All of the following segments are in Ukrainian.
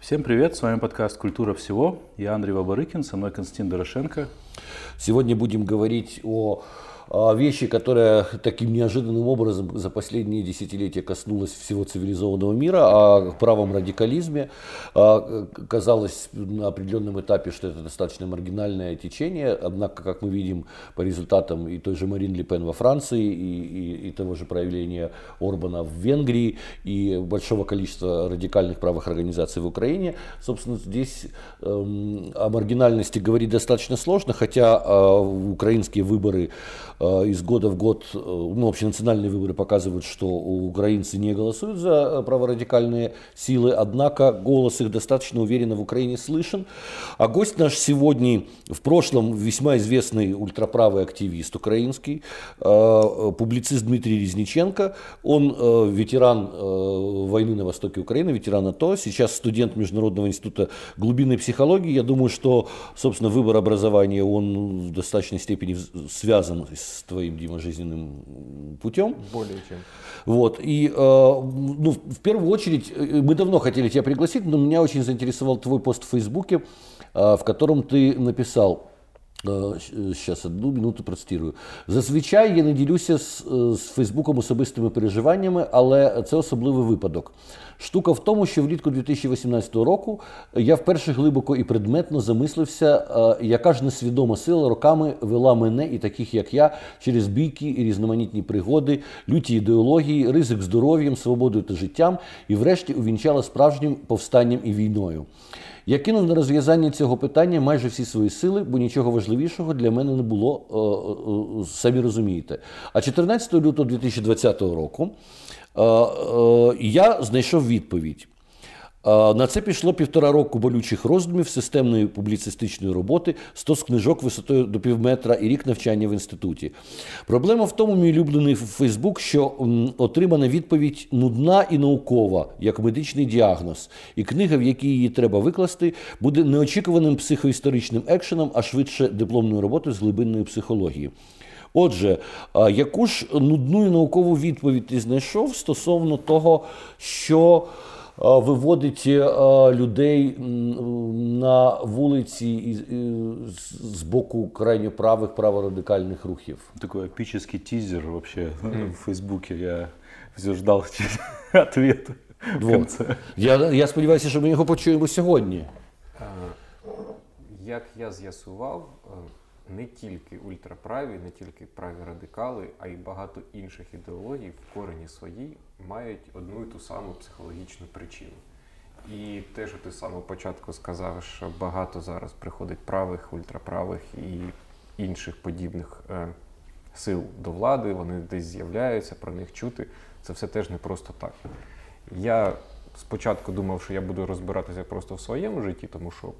Всем привет, с вами подкаст «Культура всего». Я Андрей Бабарыкин, со мной Константин Дорошенко. Сегодня будем говорить о вещи, которая таким неожиданным образом за последние десятилетия коснулась всего цивилизованного мира, о правом радикализме. Казалось на определенном этапе, что это достаточно маргинальное течение, однако, как мы видим по результатам и той же Марин Ле Пен во Франции, и того же проявления Орбана в Венгрии, и большого количества радикальных правых организаций в Украине, собственно, здесь о маргинальности говорить достаточно сложно, хотя украинские выборы из года в год, общенациональные выборы показывают, что украинцы не голосуют за праворадикальные силы, однако голос их достаточно уверенно в Украине слышен. А гость наш сегодня, в прошлом весьма известный ультраправый активист украинский, публицист Дмитрий Резниченко. Он ветеран войны на востоке Украины, ветеран АТО, сейчас студент Международного института глубинной психологии. Я думаю, что, собственно, выбор образования, он в достаточной степени связан с твоим, Дима, жизненным путем. Более чем. Вот. И в первую очередь, мы давно хотели тебя пригласить, но меня очень заинтересовал твой пост в Фейсбуке, в котором ты написал, зараз одну минуту процитую. Зазвичай я не ділюся з Фейсбуком особистими переживаннями, але це особливий випадок. Штука в тому, що влітку 2018 року я вперше глибоко і предметно замислився, яка ж несвідома сила роками вела мене і таких, як я, через бійки і різноманітні пригоди, люті ідеології, ризик здоров'ям, свободою та життям і врешті увінчала справжнім повстанням і війною. Я кинув на розв'язання цього питання майже всі свої сили, бо нічого важливішого для мене не було, самі розумієте. А 14 лютого 2020 року я знайшов відповідь. На це пішло 1,5 року болючих роздумів, системної публіцистичної роботи, 100 книжок висотою до півметра і рік навчання в інституті. Проблема в тому, мій улюблений Фейсбук, що отримана відповідь нудна і наукова, як медичний діагноз. І книга, в якій її треба викласти, буде неочікуваним психоісторичним екшеном, а швидше дипломною роботою з глибинної психології. Отже, яку ж нудну і наукову відповідь ти знайшов стосовно того, що виводить людей на вулиці з боку крайньо правих, праворадикальних рухів? Такой эпический тизер вообще в Фейсбуке. Я все ждал ответа в конце. Я сподіваюся, що ми його почуємо сьогодні. Як я з'ясував, не тільки ультраправі, не тільки праві радикали, а й багато інших ідеологій в корені своїй мають одну і ту саму психологічну причину. І те, що ти з самого початку сказав, що багато зараз приходить правих, ультраправих і інших подібних сил до влади, вони десь з'являються, про них чути, це все теж не просто так. Я спочатку думав, що я буду розбиратися просто в своєму житті, тому що,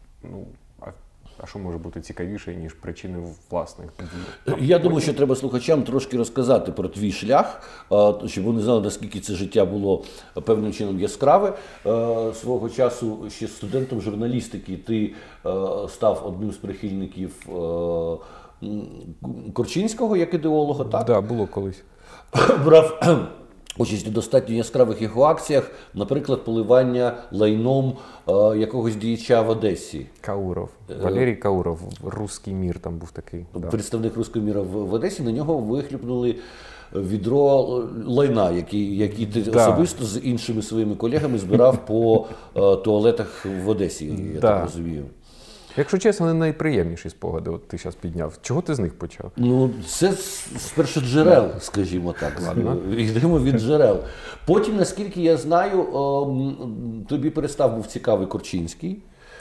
а що може бути цікавіше, ніж причини власних дій? Я думаю, що треба слухачам трошки розказати про твій шлях, щоб вони знали, наскільки це життя було певним чином яскраве. Свого часу ще студентом журналістики ти став одним з прихильників Корчинського як ідеолога, так? Так, було колись. Брав участь у достатньо яскравих його акціях, наприклад, поливання лайном якогось діяча в Одесі. Кауров. Валерій Кауров, «Руський мір» там був такий. Представник «Руського міра» в Одесі, на нього вихлюпнули відро лайна, який ти особисто з іншими своїми колегами збирав по туалетах в Одесі, я так розумію. Якщо чесно, не найприємніші спогади от ти зараз підняв. Чого ти з них почав? Це з першоджерел, скажімо так. Йдемо від джерел. Потім, наскільки я знаю, тобі перестав був цікавий Корчинський.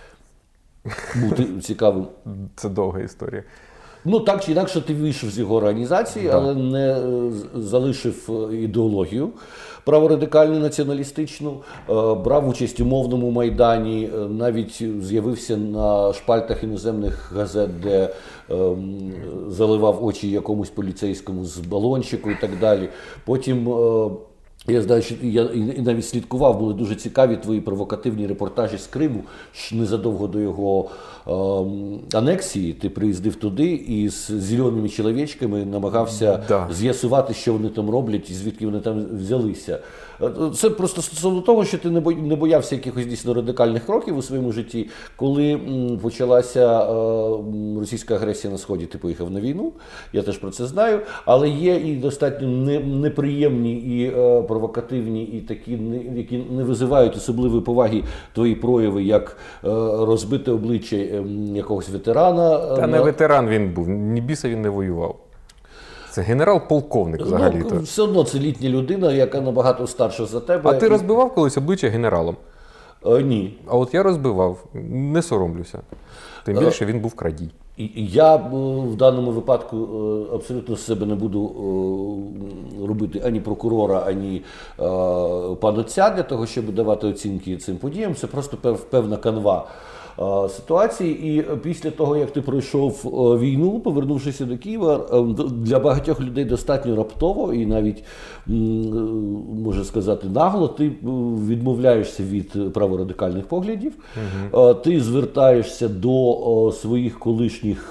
Був цікавим. Це довга історія. Так чи інакше ти вийшов з його організації, але не залишив ідеологію праворадикальну, націоналістичну, брав участь у мовному майдані, навіть з'явився на шпальтах іноземних газет, де заливав очі якомусь поліцейському з балончику і так далі. Потім я знаю, що я і навіть слідкував, були дуже цікаві твої провокативні репортажі з Криму. Незадовго до його анексії ти приїздив туди і з зеленими чоловічками намагався з'ясувати, що вони там роблять і звідки вони там взялися. Це просто стосовно того, що ти не боявся якихось дійсно радикальних кроків у своєму житті. Коли почалася російська агресія на Сході, ти поїхав на війну, я теж про це знаю, але є і достатньо неприємні і провокативні, і такі, які не визивають особливої поваги твої прояви, як розбите обличчя якогось ветерана. Та не ветеран він був, ні біса він не воював. Це генерал-полковник взагалі-то. Ну, все одно це літня людина, яка набагато старша за тебе. А ти розбивав колись обличчя генералом? Ні. А от я розбивав, не соромлюся. Тим більше він був крадій. Я в даному випадку абсолютно з себе не буду робити ані прокурора, ані панотця для того, щоб давати оцінки цим подіям. Це просто певна канва ситуації. І після того, як ти пройшов війну, повернувшися до Києва, для багатьох людей достатньо раптово і навіть, можна сказати, нагло, ти відмовляєшся від праворадикальних поглядів, ти звертаєшся до своїх колишніх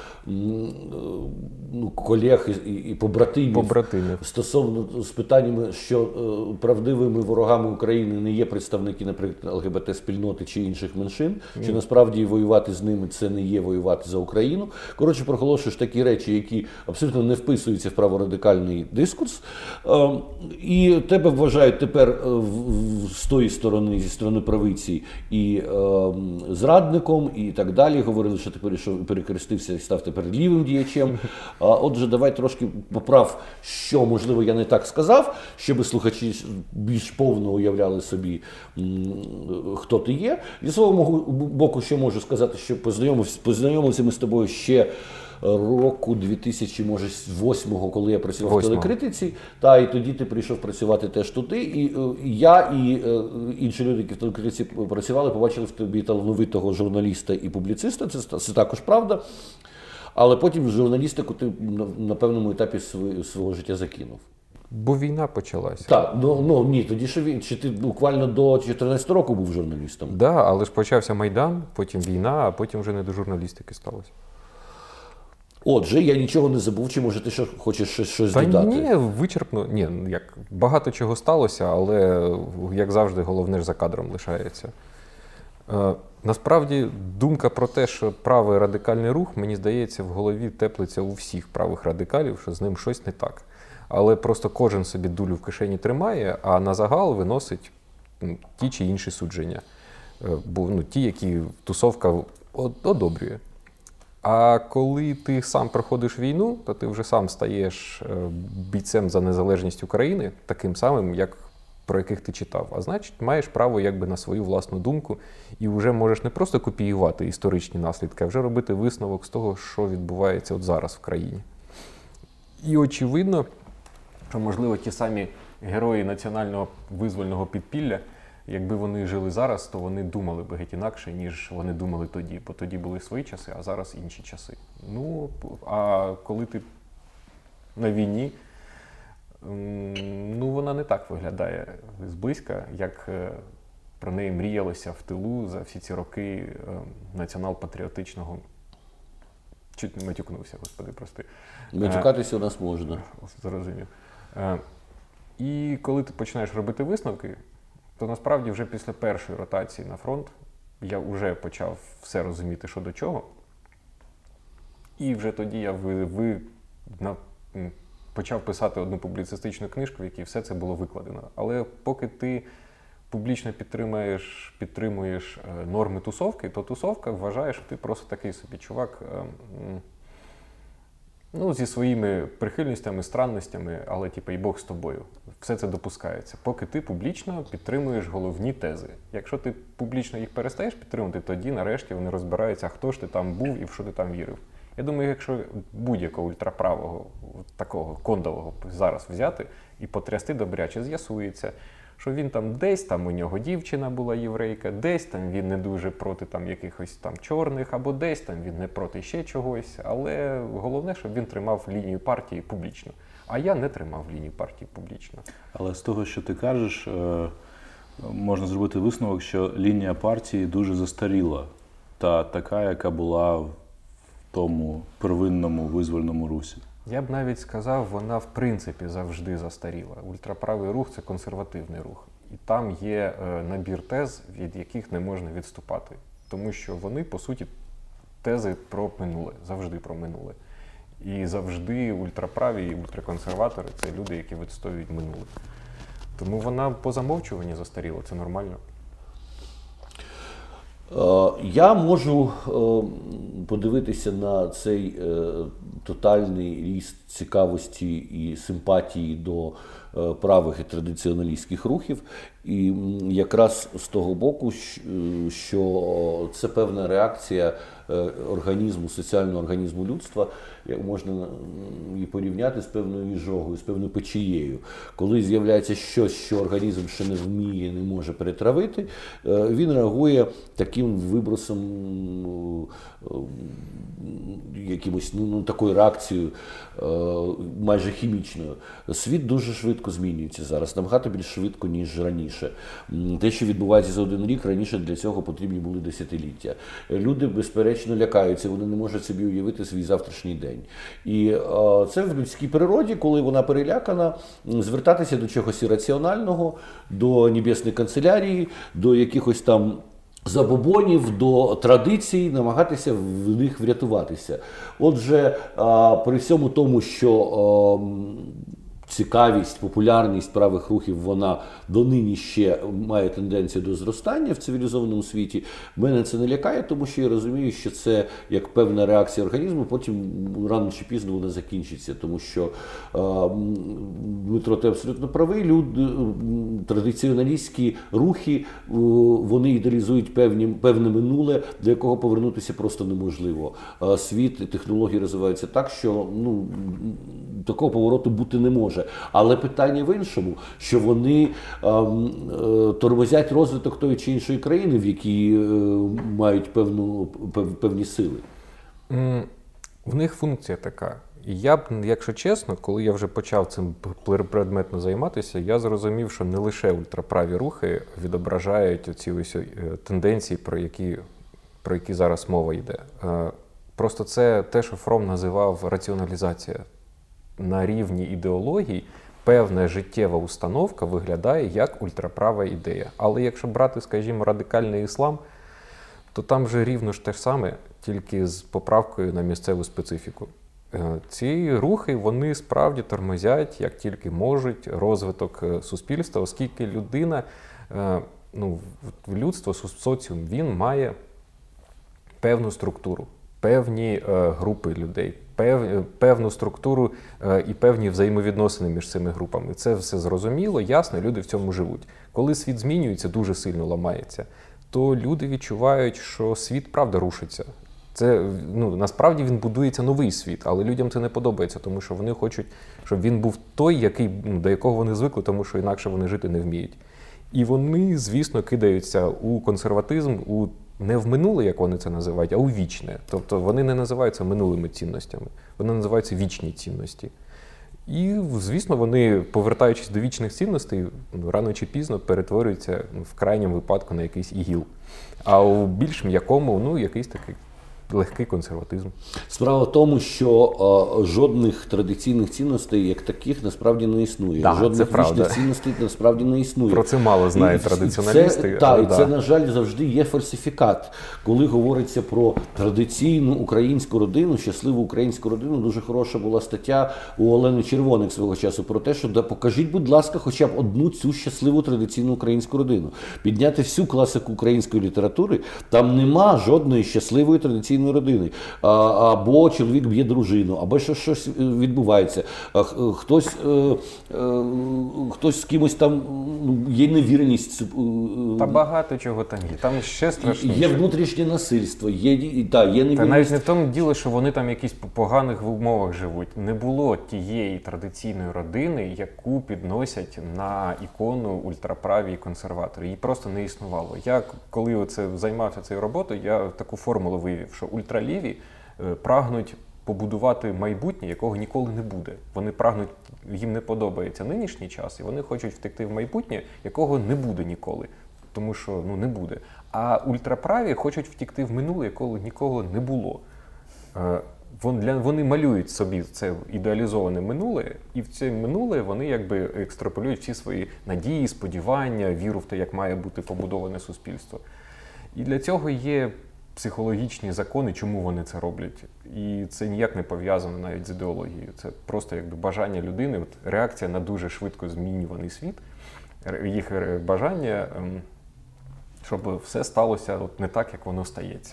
колег і побратимів стосовно з питаннями, що правдивими ворогами України не є представники, наприклад, ЛГБТ-спільноти чи інших меншин, що насправді воювати з ними це не є воювати за Україну. Коротше, проголошуєш такі речі, які абсолютно не вписуються в праворадикальний дискурс, і тебе вважають тепер з тої сторони, зі сторони правиці, і зрадником, і так далі. Говорили, що ти перехрестився і став тепер лівим діячем. Отже, давай трошки поправ, що, можливо, я не так сказав, щоб слухачі більш повно уявляли собі, хто ти є. Зі свого боку, що можу сказати, що познайомилися ми з тобою ще року 2008-го, коли я працював в телекритиці, і тоді ти прийшов працювати теж туди, і я, і інші люди, які в телекритиці працювали, побачили в тобі талановитого журналіста і публіциста, це також правда. Але потім журналістику ти на певному етапі свого життя закинув. Бо війна почалася. Так, ні, тоді чи ти буквально до 14 року був журналістом? Так, да, але ж почався Майдан, потім війна, а потім вже не до журналістики сталося. Отже, я нічого не забув, чи може ти хочеш щось додати? Та ні, вичерпно, багато чого сталося, але, як завжди, головне ж за кадром лишається. Насправді, думка про те, що правий радикальний рух, мені здається, в голові теплиться у всіх правих радикалів, що з ним щось не так. Але просто кожен собі дулю в кишені тримає, а на загал виносить ті чи інші судження. Бо ті, які тусовка одобрює. А коли ти сам проходиш війну, то ти вже сам стаєш бійцем за незалежність України, таким самим, як про яких ти читав. А значить, маєш право на свою власну думку і вже можеш не просто копіювати історичні наслідки, а вже робити висновок з того, що відбувається от зараз в країні. І очевидно, що, можливо, ті самі герої національного визвольного підпілля, якби вони жили зараз, то вони думали би геть інакше, ніж вони думали тоді. Бо тоді були свої часи, а зараз інші часи. А коли ти на війні, вона не так виглядає зблизька, як про неї мріялося в тилу за всі ці роки націонал-патріотичного. Чуть не матюкнувся, господи, прости. Матюкатися у нас можна. Зрозумів. І коли ти починаєш робити висновки, то насправді вже після першої ротації на фронт я вже почав все розуміти, що до чого. І вже тоді я почав писати одну публіцистичну книжку, в якій все це було викладено. Але поки ти публічно підтримуєш норми тусовки, то тусовка вважає, що ти просто такий собі чувак зі своїми прихильностями, странностями, але і Бог з тобою. Все це допускається. Поки ти публічно підтримуєш головні тези. Якщо ти публічно їх перестаєш підтримувати, тоді нарешті вони розбираються, хто ж ти там був і в що ти там вірив. Я думаю, якщо будь-якого ультраправого, такого кондового зараз взяти і потрясти добряче, з'ясується, що він там десь там у нього дівчина була єврейка, десь там він не дуже проти там якихось там чорних, або десь там він не проти ще чогось. Але головне, щоб він тримав лінію партії публічно. А я не тримав лінію партії публічно. Але з того, що ти кажеш, можна зробити висновок, що лінія партії дуже застаріла. Та така, яка була в тому первинному визвольному русі. Я б навіть сказав, вона в принципі завжди застаріла. Ультраправий рух – це консервативний рух. І там є набір тез, від яких не можна відступати. Тому що вони, по суті, тези про минуле, завжди про минуле. І завжди ультраправі і ультраконсерватори – це люди, які відстоюють минуле. Тому вона по замовчуванні застаріла, це нормально. Я можу подивитися на цей тотальний ріст цікавості і симпатії до правих і традиціоналістських рухів, і якраз з того боку, що це певна реакція організму, соціального організму людства, як можна її порівняти з певною іжогою, з певною печією. Коли з'являється щось, що організм ще не вміє, не може перетравити, він реагує таким вибросом, якимось, такою реакцією майже хімічною. Світ дуже швидко змінюється зараз, набагато більш швидко, ніж раніше. Те, що відбувається за один рік, раніше для цього потрібні були десятиліття. Люди, безперечно, лякаються, вони не можуть собі уявити свій завтрашній день. І це в людській природі, коли вона перелякана, звертатися до чогось ірраціонального, до небесної канцелярії, до якихось там забобонів, до традицій, намагатися в них врятуватися. Отже, при всьому тому, що цікавість, популярність правих рухів, вона донині ще має тенденцію до зростання в цивілізованому світі. Мене це не лякає, тому що я розумію, що це як певна реакція організму, потім рано чи пізно вона закінчиться, тому що Дмитро, ти абсолютно правий, традиціоналістські рухи, вони ідеалізують певне минуле, до якого повернутися просто неможливо. Світ і технології розвиваються так, що такого повороту бути не може. Але питання в іншому, що вони тормозять розвиток тої чи іншої країни, в якій мають певні сили. В них функція така. І я б, якщо чесно, коли я вже почав цим предметно займатися, я зрозумів, що не лише ультраправі рухи відображають ці ось тенденції, про які зараз мова йде. Просто це те, що Фром називав раціоналізація. На рівні ідеології певна життєва установка виглядає як ультраправа ідея. Але якщо брати, скажімо, радикальний іслам, то там вже рівно ж те ж саме, тільки з поправкою на місцеву специфіку. Ці рухи, вони справді тормозять, як тільки можуть, розвиток суспільства, оскільки людина, людство, соціум, він має певну структуру, певні групи людей, певну структуру і певні взаємовідносини між цими групами. Це все зрозуміло, ясно, люди в цьому живуть. Коли світ змінюється, дуже сильно ламається, то люди відчувають, що світ, правда, рушиться. Це, насправді він будується новий світ, але людям це не подобається, тому що вони хочуть, щоб він був той, до якого вони звикли, тому що інакше вони жити не вміють. І вони, звісно, кидаються у консерватизм, не в минуле, як вони це називають, а у вічне. Тобто вони не називаються минулими цінностями, вони називаються вічні цінності. І, звісно, вони, повертаючись до вічних цінностей, рано чи пізно перетворюються в крайньому випадку на якийсь ігіл. А у більш м'якому, якийсь такий легкий консерватизм. Справа в тому, що жодних традиційних цінностей, як таких, насправді не існує. Да, жодних вічних цінностей насправді не існує. Про це мало знають традиціоналісти. І це, на жаль, завжди є фальсифікат. Коли говориться про традиційну українську родину, щасливу українську родину, дуже хороша була стаття у Олени Червоник свого часу про те, що покажіть, будь ласка, хоча б одну цю щасливу традиційну українську родину. Підняти всю класику української літератури, там нема жодної щасливої традиційної родини. Або чоловік б'є дружину, або щось відбувається. Хтось з кимось там є невірність. Та багато чого там є. Там ще страшніше. Є внутрішнє насильство, є невірність. Та навіть не в тому діло, що вони там якісь по поганих умовах живуть. Не було тієї традиційної родини, яку підносять на ікону ультраправі консерватори. Її просто не існувало. Я, коли займався цією роботою, я таку формулу вивів, що ультраліві прагнуть побудувати майбутнє, якого ніколи не буде. Вони прагнуть, їм не подобається нинішній час, і вони хочуть втекти в майбутнє, якого не буде ніколи. Тому що, не буде. А ультраправі хочуть втекти в минуле, якого ніколи не було. Вони малюють собі це ідеалізоване минуле, і в це минуле вони якби екстраполюють всі свої надії, сподівання, віру в те, як має бути побудоване суспільство. І для цього є психологічні закони, чому вони це роблять. І це ніяк не пов'язано навіть з ідеологією. Це просто якби бажання людини, реакція на дуже швидко змінюваний світ, їх бажання, щоб все сталося не так, як воно стається.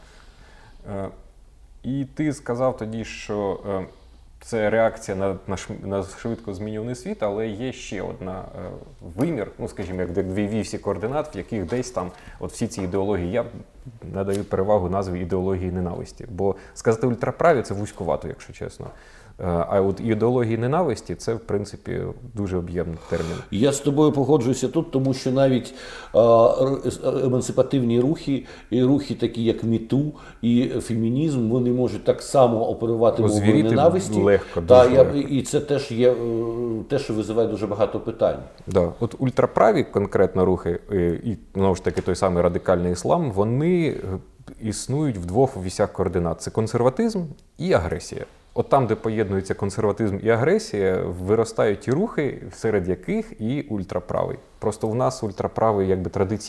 І ти сказав тоді, що це реакція на швидко змінюваний світ, але є ще одна вимір, скажімо, як дві вісі координат, в яких десь там всі ці ідеології, я надаю перевагу назві ідеології ненависті. Бо сказати ультраправі – це вузькувато, якщо чесно. А от ідеології ненависті – це, в принципі, дуже об'ємний термін. Я з тобою погоджуюся тут, тому що навіть емансипативні рухи, і рухи такі, як МіТу і фемінізм, вони можуть так само оперувати мовою ненависті. Легко, і це теж є те, що визиває дуже багато питань. Да. От ультраправі конкретно рухи, і, знову ж таки, той самий радикальний іслам, вони існують в двох вісях координат – це консерватизм і агресія. От там, де поєднуються консерватизм і агресія, виростають ті рухи, серед яких і ультраправий. Просто в нас ультраправий якби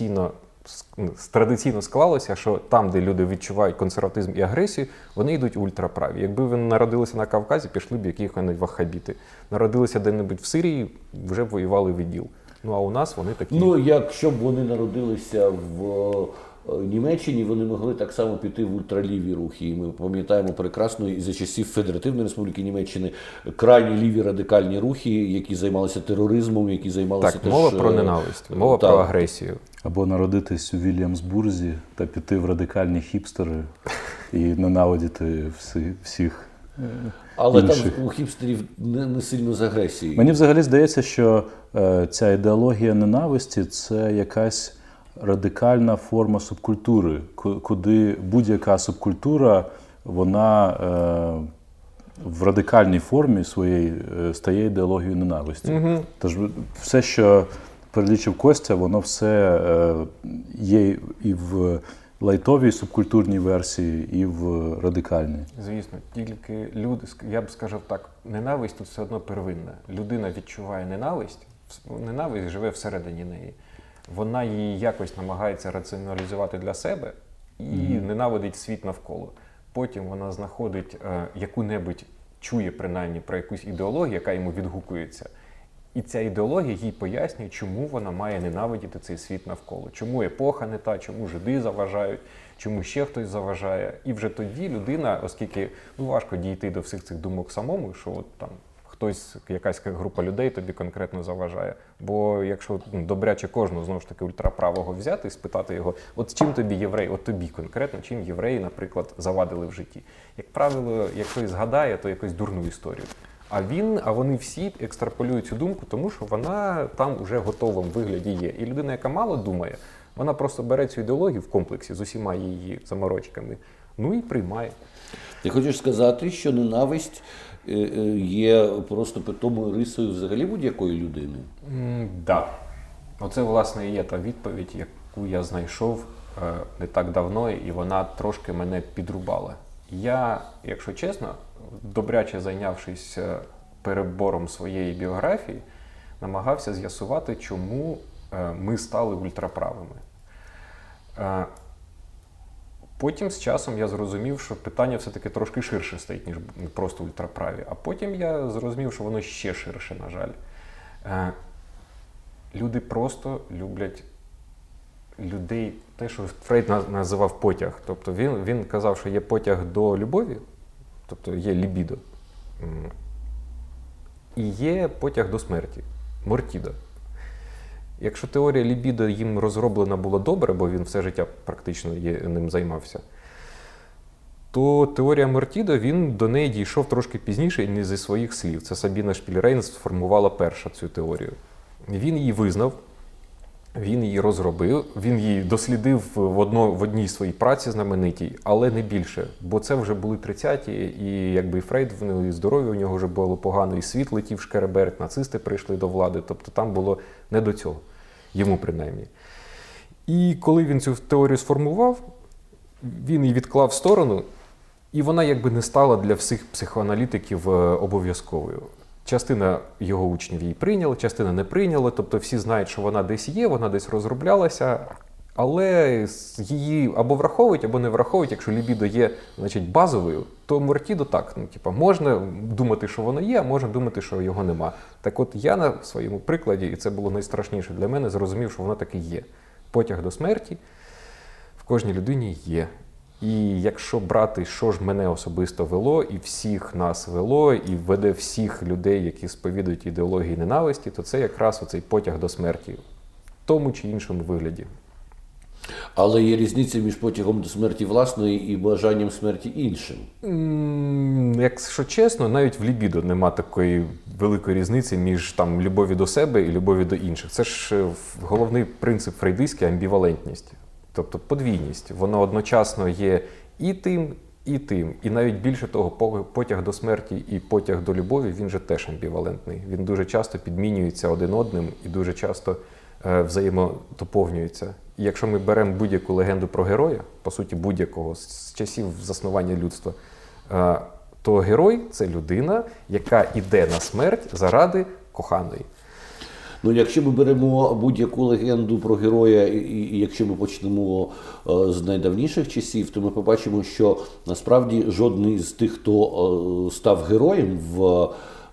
традиційно склалося, що там, де люди відчувають консерватизм і агресію, вони йдуть ультраправі. Якби вони народилися на Кавказі, пішли б яких-небудь ваххабіти. Народилися де-небудь в Сирії, вже б воювали в ІДІЛ. А у нас вони такі... Якщо б вони народилися в Німеччині, вони могли так само піти в ультраліві рухи. І ми пам'ятаємо прекрасно і за часів Федеративної Республіки Німеччини крайні ліві радикальні рухи, які займалися тероризмом, які займалися теж... мова про ненависть, мова про агресію. Або народитись у Вільямсбурзі та піти в радикальні хіпстери і ненавидіти всіх Але інших. Там у хіпстерів не сильно з агресією. Мені взагалі здається, що ця ідеологія ненависті – це якась радикальна форма субкультури, куди будь-яка субкультура, вона в радикальній формі своєї стає ідеологією ненависті. Угу. Тож все, що перелічив Костя, воно все є і в лайтовій субкультурній версії, і в радикальній. Звісно, тільки люди, я б сказав так, ненависть тут все одно первинна. Людина відчуває ненависть живе всередині неї. Вона її якось намагається раціоналізувати для себе і ненавидить світ навколо. Потім вона знаходить яку-небудь, чує принаймні про якусь ідеологію, яка йому відгукується. І ця ідеологія їй пояснює, чому вона має ненавидіти цей світ навколо. Чому епоха не та, чому жиди заважають, чому ще хтось заважає. І вже тоді людина, оскільки важко дійти до всіх цих думок самому, що от там хтось, якась група людей тобі конкретно заважає. Бо якщо добряче кожного, знову ж таки, ультраправого взяти і спитати його, от чим тобі євреї, от тобі конкретно, чим євреї, наприклад, завадили в житті. Як правило, якщо згадає, то якусь дурну історію. А вони всі екстраполюють цю думку, тому що вона там уже в готовому вигляді є. І людина, яка мало думає, вона просто бере цю ідеологію в комплексі з усіма її заморочками, і приймає. Ти хочеш сказати, що ненависть є просто питомою рисою взагалі будь-якої людини? Так. Оце, власне, і є та відповідь, яку я знайшов не так давно, і вона трошки мене підрубала. Я, якщо чесно, добряче зайнявшись перебором своєї біографії, намагався з'ясувати, чому ми стали ультраправими. Потім з часом я зрозумів, що питання все-таки трошки ширше стоїть, ніж просто ультраправі. А потім я зрозумів, що воно ще ширше, на жаль. Люди просто люблять людей, те, що Фрейд називав потяг. Тобто він казав, що є потяг до любові, тобто є лібідо, і є потяг до смерті, мортідо. Якщо теорія лібідо їм розроблена була добре, бо він все життя практично ним займався, то теорія мортідо, він до неї дійшов трошки пізніше і не зі своїх слів. Це Сабіна Шпільрейн сформувала перша цю теорію. Він її визнав, він її розробив, він її дослідив в одній своїй праці знаменитій, але не більше. Бо це вже були 30-ті, і якби і Фрейд, і здоров'я у нього вже було погано, і світ летів шкереберть, нацисти прийшли до влади, тобто там було не до цього, йому принаймні. І коли він цю теорію сформував, він її відклав в сторону І вона якби не стала для всіх психоаналітиків обов'язковою. Частина його учнів її прийняла, частина не прийняла, тобто всі знають, що вона десь є, вона десь розроблялася, але її або враховують, або не враховують. Якщо лібідо є, значить, базовою, то мортідо так. Можна думати, що воно є, а можна думати, що його нема. Так от я на своєму прикладі, і це було найстрашніше для мене, зрозумів, що воно таки є. Потяг до смерті в кожній людині є. І якщо брати, що ж мене особисто вело, і всіх нас вело, і веде всіх людей, які сповідують ідеології ненависті, то це якраз оцей потяг до смерті в тому чи іншому вигляді. Але є різниця між потягом до смерті власної і бажанням смерті іншим. Якщо чесно, навіть в лібідо нема такої великої різниці між там любові до себе і любові до інших. Це ж головний принцип фрейдистський – амбівалентність. Тобто подвійність. Воно одночасно є і тим, і тим. І навіть більше того, потяг до смерті і потяг до любові, він же теж амбівалентний. Він дуже часто підмінюється один одним і дуже часто взаємодоповнюється. І якщо ми беремо будь-яку легенду про героя, по суті будь-якого, з часів заснування людства, то герой – це людина, яка йде на смерть заради коханої. Ну, якщо ми беремо будь-яку легенду про героя, і якщо ми почнемо з найдавніших часів, то ми побачимо, що насправді жодний з тих, хто став героєм в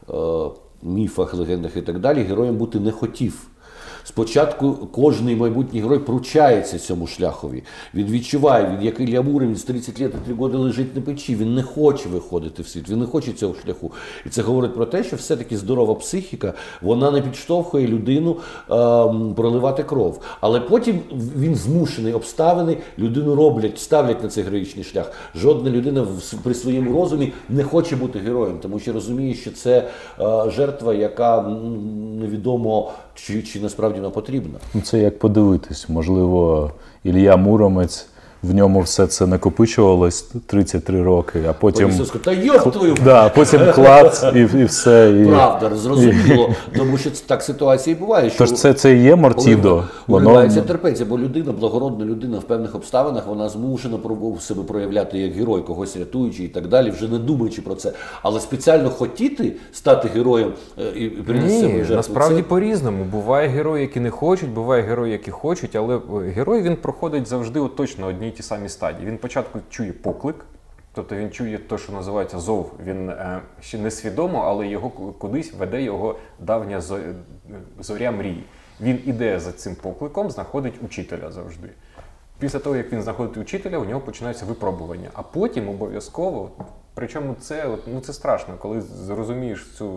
міфах, легендах і так далі, героєм бути не хотів. Спочатку кожний майбутній герой пручається цьому шляхові. Він відчуває, він як Ілля Муромець, він з 30 років і 3 роки лежить на печі, він не хоче виходити в світ, він не хоче цього шляху. І це говорить про те, що все-таки здорова психіка, вона не підштовхує людину проливати кров. Але потім він змушений, обставини, людину ставлять на цей героїчний шлях. Жодна людина при своєму розумі не хоче бути героєм, тому що розуміє, що це жертва, яка невідомо, чи насправді вона потрібна. Це як подивитись. Можливо, Ілля Муромець, в ньому все це накопичувалось 33 роки, а потім... Та йоп твою! Да, потім клац і все. Правда, зрозуміло. Тому що так ситуація і буває. Що тож це і є мортідо. Уривається терпеться, бо людина, благородна людина в певних обставинах, вона змушена себе проявляти як герой, когось рятуючи і так далі, вже не думаючи про це. Але спеціально хотіти стати героєм і принести себе жертву. Насправді по-різному. Буває герої, які не хочуть, буває герої, які хочуть, але герой, він проходить завжди точно одні й ті самі стадії. Він спочатку чує поклик, тобто він чує те, що називається зов. Він ще не свідомо, але його кудись веде його давня зоря мрії. Він іде за цим покликом, знаходить учителя завжди. Після того, як він знаходить учителя, у нього починаються випробування. А потім обов'язково, причому це страшно, коли зрозумієш цю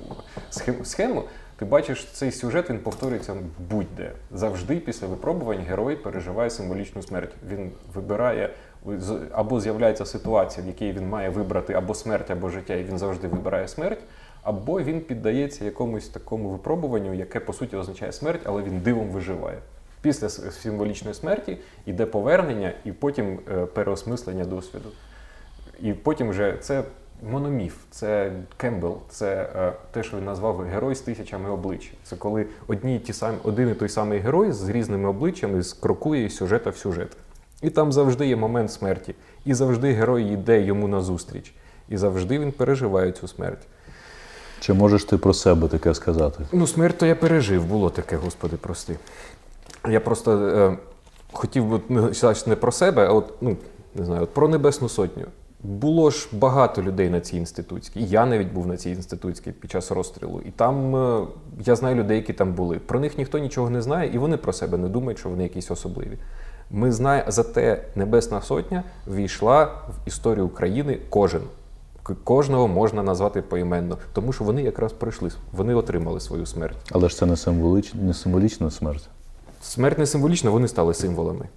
схему, ти бачиш, цей сюжет, він повторюється будь-де. Завжди після випробувань герой переживає символічну смерть. Він вибирає, або з'являється ситуація, в якій він має вибрати або смерть, або життя, і він завжди вибирає смерть, або він піддається якомусь такому випробуванню, яке, по суті, означає смерть, але він дивом виживає. Після символічної смерті йде повернення і потім переосмислення досвіду. І потім вже це мономіф, це Кембл, це те, що він назвав герой з тисячами облич. Це коли один і той самий герой з різними обличчями скрокує із сюжета в сюжет. І там завжди є момент смерті. І завжди герой йде йому назустріч. І завжди він переживає цю смерть. Чи можеш ти про себе таке сказати? Смерть то я пережив, було таке, Господи, прости. Я просто хотів би не про себе, а не знаю, про Небесну Сотню. Було ж багато людей на цій інститутській. І я навіть був на цій інститутській під час розстрілу. І там я знаю людей, які там були. Про них ніхто нічого не знає, і вони про себе не думають, що вони якісь особливі. Ми знаємо, зате Небесна Сотня ввійшла в історію України кожен. Кожного можна назвати поіменно, тому що вони якраз пройшли, вони отримали свою смерть. Але ж це не символічна смерть. Смерть не символічна, вони стали символами.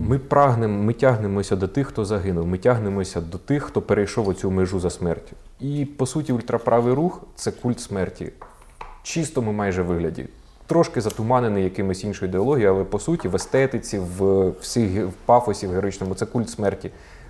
Ми тягнемося до тих, хто загинув, ми тягнемося до тих, хто перейшов оцю межу за смертю. І, по суті, ультраправий рух – це культ смерті. В чистому майже вигляді. Трошки затуманений якимось іншою ідеологією, але, по суті, в естетиці, в пафосі, в героїчному – це культ смерті.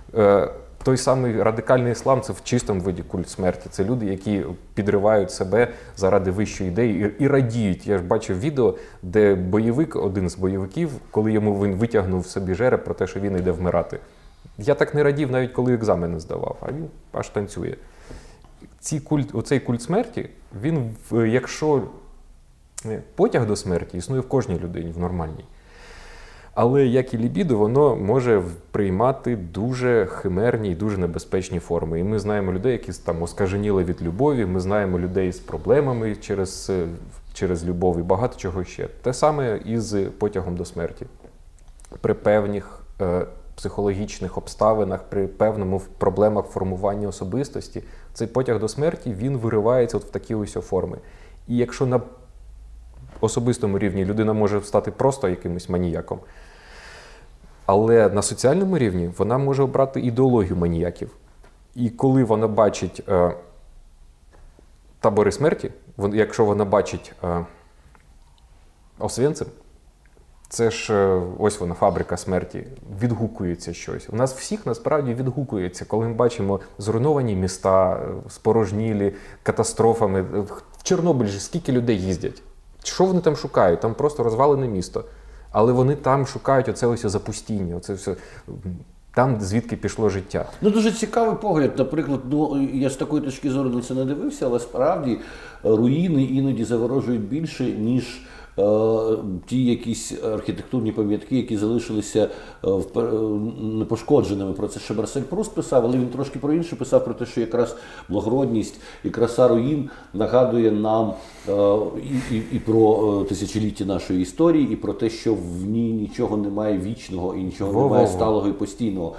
Той самий радикальний іслам – це в чистому виді культ смерті. Це люди, які підривають себе заради вищої ідеї і радіють. Я ж бачив відео, де один з бойовиків, коли він витягнув собі жереб про те, що він йде вмирати. Я так не радів, навіть коли екзамени здавав, а він аж танцює. Оцей культ смерті, він, якщо потяг до смерті існує в кожній людині, в нормальній. Але, як і лібідо, воно може приймати дуже химерні і дуже небезпечні форми. І ми знаємо людей, які там оскаженіли від любові, ми знаємо людей з проблемами через любов і багато чого ще. Те саме і з потягом до смерті. При певних психологічних обставинах, при певному проблемах формування особистості, цей потяг до смерті, він виривається от в такі ось форми. І якщо на особистому рівні людина може стати просто якимось маніяком, але на соціальному рівні вона може обрати ідеологію маніяків. І коли вона бачить табори смерті, якщо вона бачить Освенцим, це ж ось вона, фабрика смерті, відгукується щось. У нас всіх насправді відгукується, коли ми бачимо зруйновані міста, спорожнілі, катастрофами. В Чорнобиль же скільки людей їздять? Що вони там шукають? Там просто розвалене місто. Але вони там шукають оце ось запустіння, оце все, там, звідки пішло життя. Ну, дуже цікавий погляд. Наприклад, я з такої точки зору на це не дивився, але справді руїни іноді заворожують більше, ніж ті якісь архітектурні пам'ятки, які залишилися непошкодженими. Про це ще Марсель Пруст писав, але він трошки про інше писав, про те, що якраз благородність і краса руїн нагадує нам і про тисячоліття нашої історії, і про те, що в ній нічого немає вічного і нічого немає сталого і постійного.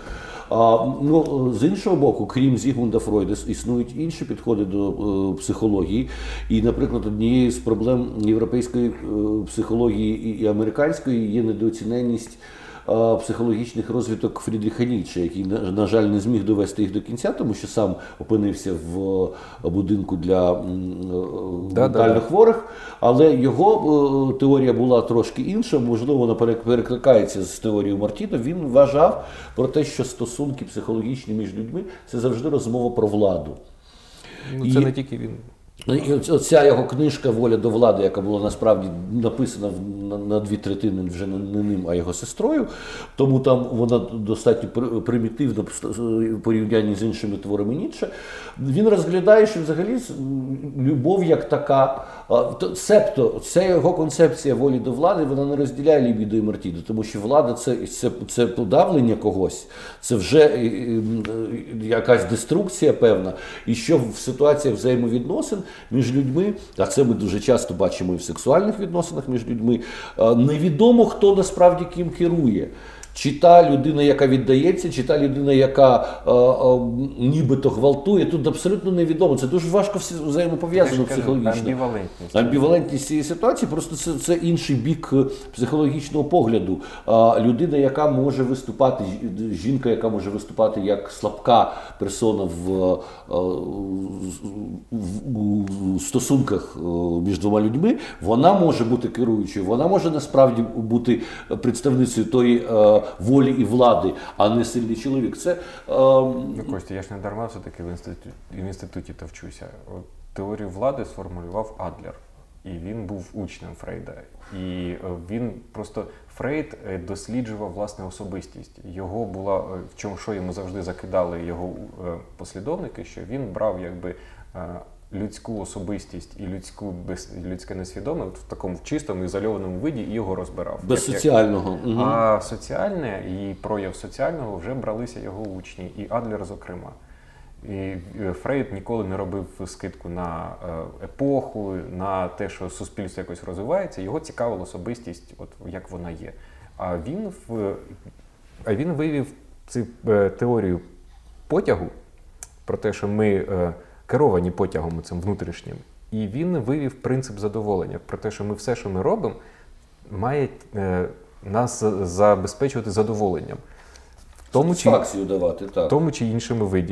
З іншого боку, крім Зігмунда Фройда, існують інші підходи до психології. І, наприклад, однією з проблем європейської психології і американської є недооціненість психологічних розвиток Фрідріха Ніцше, який, на жаль, не зміг довести їх до кінця, тому що сам опинився в будинку для ментально хворих, але його теорія була трошки інша, можливо, вона перекликається з теорією Мартіна. Він вважав про те, що стосунки психологічні між людьми – це завжди розмова про владу. Це не тільки він. І оця його книжка «Воля до влади», яка була насправді написана на 2/3 вже не ним, а його сестрою, тому там вона достатньо примітивна в порівнянні з іншими творами Ніцше. Він розглядає, що взагалі любов як така, себто це його концепція волі до влади, вона не розділяє лібідо і мартідо, тому що влада це подавлення когось, це вже якась деструкція певна, і що в ситуаціях взаємовідносин між людьми, а це ми дуже часто бачимо і в сексуальних відносинах між людьми, невідомо, хто насправді ким керує. Чи та людина, яка віддається, чи та людина, яка нібито гвалтує, тут абсолютно невідомо. Це дуже важко взаємопов'язано психологічно. Амбівалентність цієї ситуації, просто це інший бік психологічного погляду. Людина, яка може виступати, жінка, яка може виступати як слабка персона в стосунках між двома людьми, вона може бути керуючою, вона може насправді бути представницею тої волі і влади, а не сильний чоловік. Це Костя, я ж не дарма все-таки в інституті то вчуся. Теорію влади сформулював Адлер. І він був учнем Фрейда. І він просто, Фрейд досліджував власне особистість. Його була, в чому, що йому завжди закидали його послідовники, що він брав якби людську особистість і людське несвідоме в такому чистому, ізольованому виді і його розбирав. Без соціального. А соціальне і прояв соціального вже бралися його учні, і Адлер зокрема. І Фрейд ніколи не робив скидку на епоху, на те, що суспільство якось розвивається. Його цікавила особистість, от як вона є. А він вивів цю теорію потягу, про те, що ми керовані потягом цим внутрішнім. І він вивів принцип задоволення, про те, що ми все, що ми робимо, має нас забезпечувати задоволенням. Сатисфакцію давати, так. В тому чи іншому виді.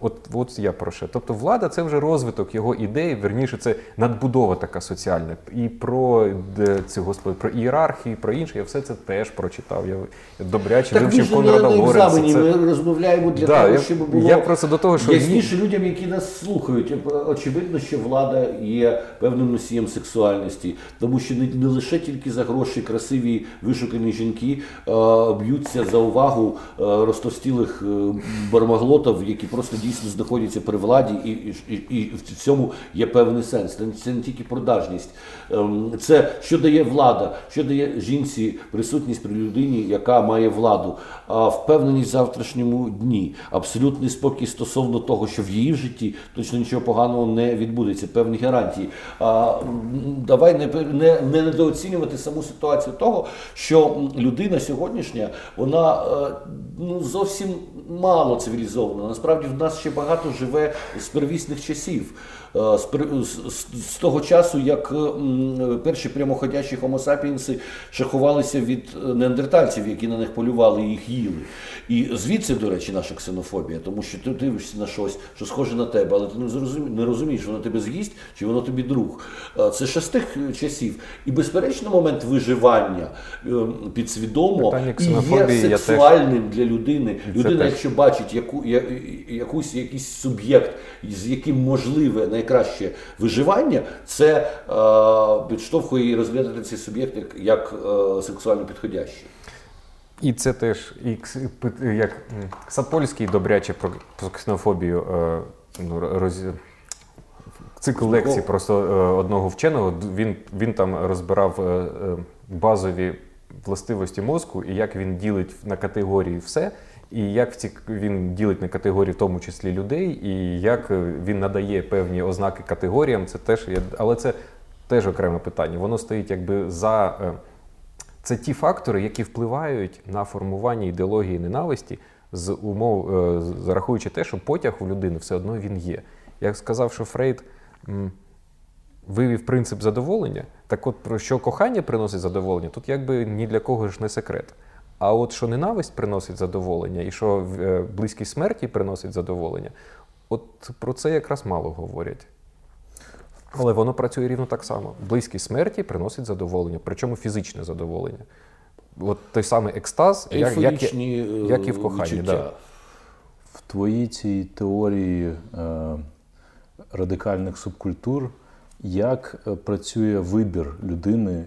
От я про що. Тобто влада – це вже розвиток його ідей, верніше, це надбудова така соціальна. І про про ієрархію, про інше, я все це теж прочитав. Я добряче вивчив Конрада Лоренса. Ми розмовляємо для того, щоб було я просто до того, що ясніше людям, які нас слухають. Очевидно, що влада є певним носієм сексуальності, тому що не лише тільки за гроші красиві вишукані жінки б'ються за увагу розтовстілих бармаглотів, які просто дійсно знаходяться при владі, і в цьому є певний сенс. Це не тільки продажність. Це що дає влада, що дає жінці присутність при людині, яка має владу, впевненість в завтрашньому дні, абсолютний спокій стосовно того, що в її житті точно нічого поганого не відбудеться, певні гарантії. Давай не недооцінювати саму ситуацію того, що людина сьогоднішня, вона зовсім мало цивілізована. Насправді в нас ще багато живе з первісних часів. З того часу, як перші прямоходячі хомосапіенси шахувалися від неандертальців, які на них полювали і їх їли. І звідси, до речі, наша ксенофобія, тому що ти дивишся на щось, що схоже на тебе, але ти не розумієш, воно тебе з'їсть чи воно тобі друг. Це ще з тих часів. І, безперечно, момент виживання підсвідомо і є сексуальним для людини. Людина, якщо бачить якийсь суб'єкт, з яким можливе найкраще виживання, це підштовхує її розглядати цей суб'єкт як сексуально підходящий. І це теж, як Сапольський добряче про ксенофобію, цикл лекцій просто одного вченого, він там розбирав базові властивості мозку і як він ділить на категорії все, і як він ділить на категорії, в тому числі людей, і як він надає певні ознаки категоріям, це теж, але це теж окреме питання. Воно стоїть якби за... Це ті фактори, які впливають на формування ідеології ненависті, зарахуючи те, що потяг у людини все одно він є. Як сказав, що Фрейд вивів принцип задоволення, так от про що кохання приносить задоволення, тут якби ні для кого ж не секрет. А от що ненависть приносить задоволення і що близькість смерті приносить задоволення, от про це якраз мало говорять. Але воно працює рівно так само. Близькість смерті приносить задоволення, причому фізичне задоволення. От той самий екстаз, як і в коханні. Да. В твоїй цій теорії радикальних субкультур, як працює вибір людини,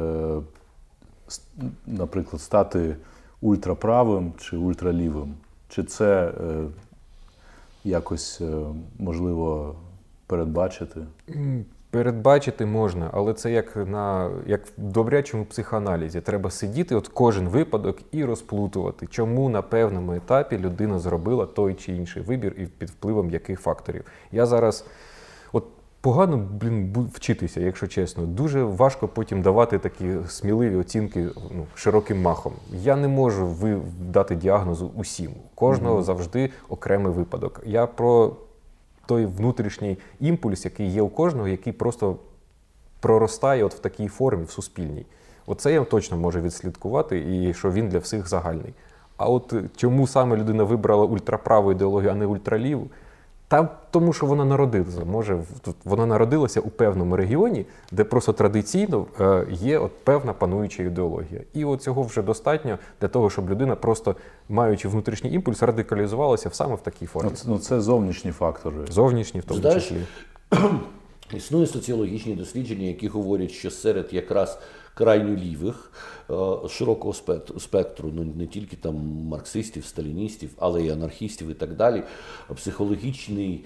наприклад, стати ультраправим чи ультралівим? Чи це якось можливо передбачити? Передбачити можна, але це як в добрячому психоаналізі. Треба сидіти от кожен випадок і розплутувати, чому на певному етапі людина зробила той чи інший вибір і під впливом яких факторів. Я зараз погано, вчитися, якщо чесно. Дуже важко потім давати такі сміливі оцінки широким махом. Я не можу дати діагнозу усім. Кожного завжди окремий випадок. Я про той внутрішній імпульс, який є у кожного, який просто проростає от в такій формі, в суспільній. Оце я точно можу відслідкувати, і що він для всіх загальний. А от чому саме людина вибрала ультраправу ідеологію, а не ультраліву? Тому що вона народилася. Вона народилася у певному регіоні, де просто традиційно є от певна пануюча ідеологія. І от цього вже достатньо для того, щоб людина, просто маючи внутрішній імпульс, радикалізувалася саме в такій формі. Це зовнішні фактори. Зовнішні в тому числі. Існують соціологічні дослідження, які говорять, що серед якраз крайньо лівих, широкого спектру, не тільки там марксистів, сталіністів, але й анархістів і так далі, психологічний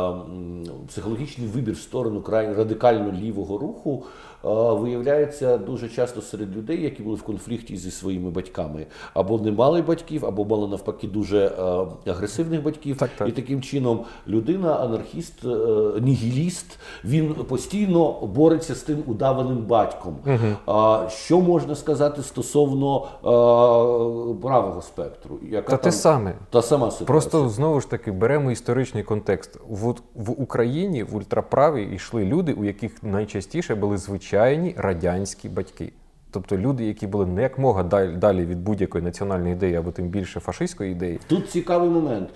вибір в сторону радикально лівого руху виявляється дуже часто серед людей, які були в конфлікті зі своїми батьками. Або не мали батьків, або мали навпаки дуже агресивних батьків. Так. І таким чином людина, анархіст, нігіліст, він постійно бореться з тим удаваним батьком. Що можна сказати стосовно правого спектру? Те саме. Та сама ситуація. Просто, знову ж таки, беремо історичний контекст. В Україні в ультраправі йшли люди, у яких найчастіше були звичайні радянські батьки. Тобто люди, які були не якмога далі від будь-якої національної ідеї, або тим більше фашистської ідеї. Тут цікавий момент.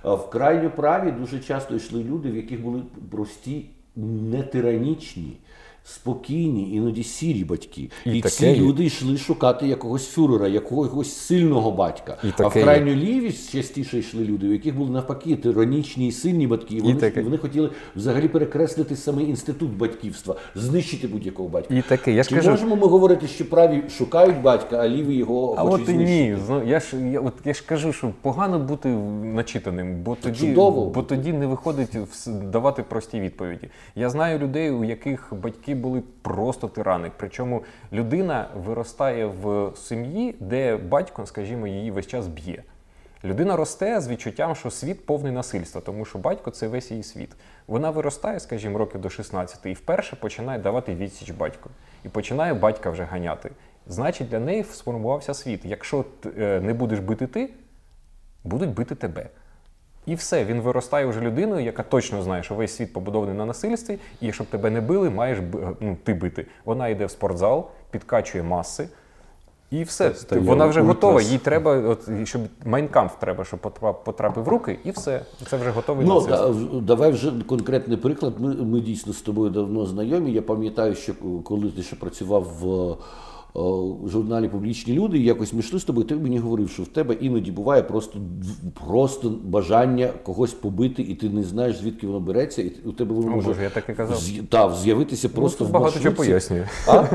В крайньо праві дуже часто йшли люди, в яких були прості, не тиранічні, спокійні, іноді сірі батьки. І ці люди йшли шукати якогось фюрера, якогось сильного батька. А в крайню лівість частіше йшли люди, у яких були навпаки тиранічні і сильні батьки. І вони хотіли взагалі перекреслити самий інститут батьківства, знищити будь-якого батька. Чи можемо ми говорити, що праві шукають батька, а ліві його хочуть знищити? Ні, я ж кажу, що погано бути начитаним, бо тоді не виходить давати прості відповіді. Я знаю людей, у яких батьки були просто тирани. Причому людина виростає в сім'ї, де батько, скажімо, її весь час б'є. Людина росте з відчуттям, що світ повний насильства, тому що батько – це весь її світ. Вона виростає, скажімо, років до 16 і вперше починає давати відсіч батьку. І починає батька вже ганяти. Значить, для неї сформувався світ. Якщо не будеш бити ти, будуть бити тебе. І все, він виростає вже людиною, яка точно знає, що весь світ побудований на насильстві, і щоб тебе не били, маєш ти бити. Вона йде в спортзал, підкачує маси, і все. Вона вже готова, їй треба, щоб Майнкамф треба, щоб потрапив в руки, і все. Це вже готовий нацист. Давай вже конкретний приклад. Ми дійсно з тобою давно знайомі. Я пам'ятаю, що коли ти ще працював в журналі «Публічні люди», і якось ми йшли з тобою, ти мені говорив, що в тебе іноді буває просто бажання когось побити, і ти не знаєш, звідки воно береться, і у тебе воно може я так і казав. З'явитися просто в маршрутці. Багато чого пояснює.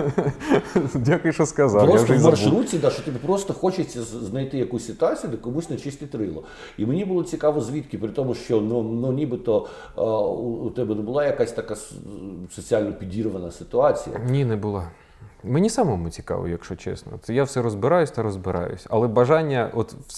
Дякую, що сказав. Просто в маршрутці, що тобі просто хочеться знайти якусь ситуацію, де комусь начистити рило. І мені було цікаво, звідки, при тому, що нібито у тебе не була якась така соціально підірвана ситуація. Ні, не була. Мені самому цікаво, якщо чесно. Я все розбираюсь. Але бажання,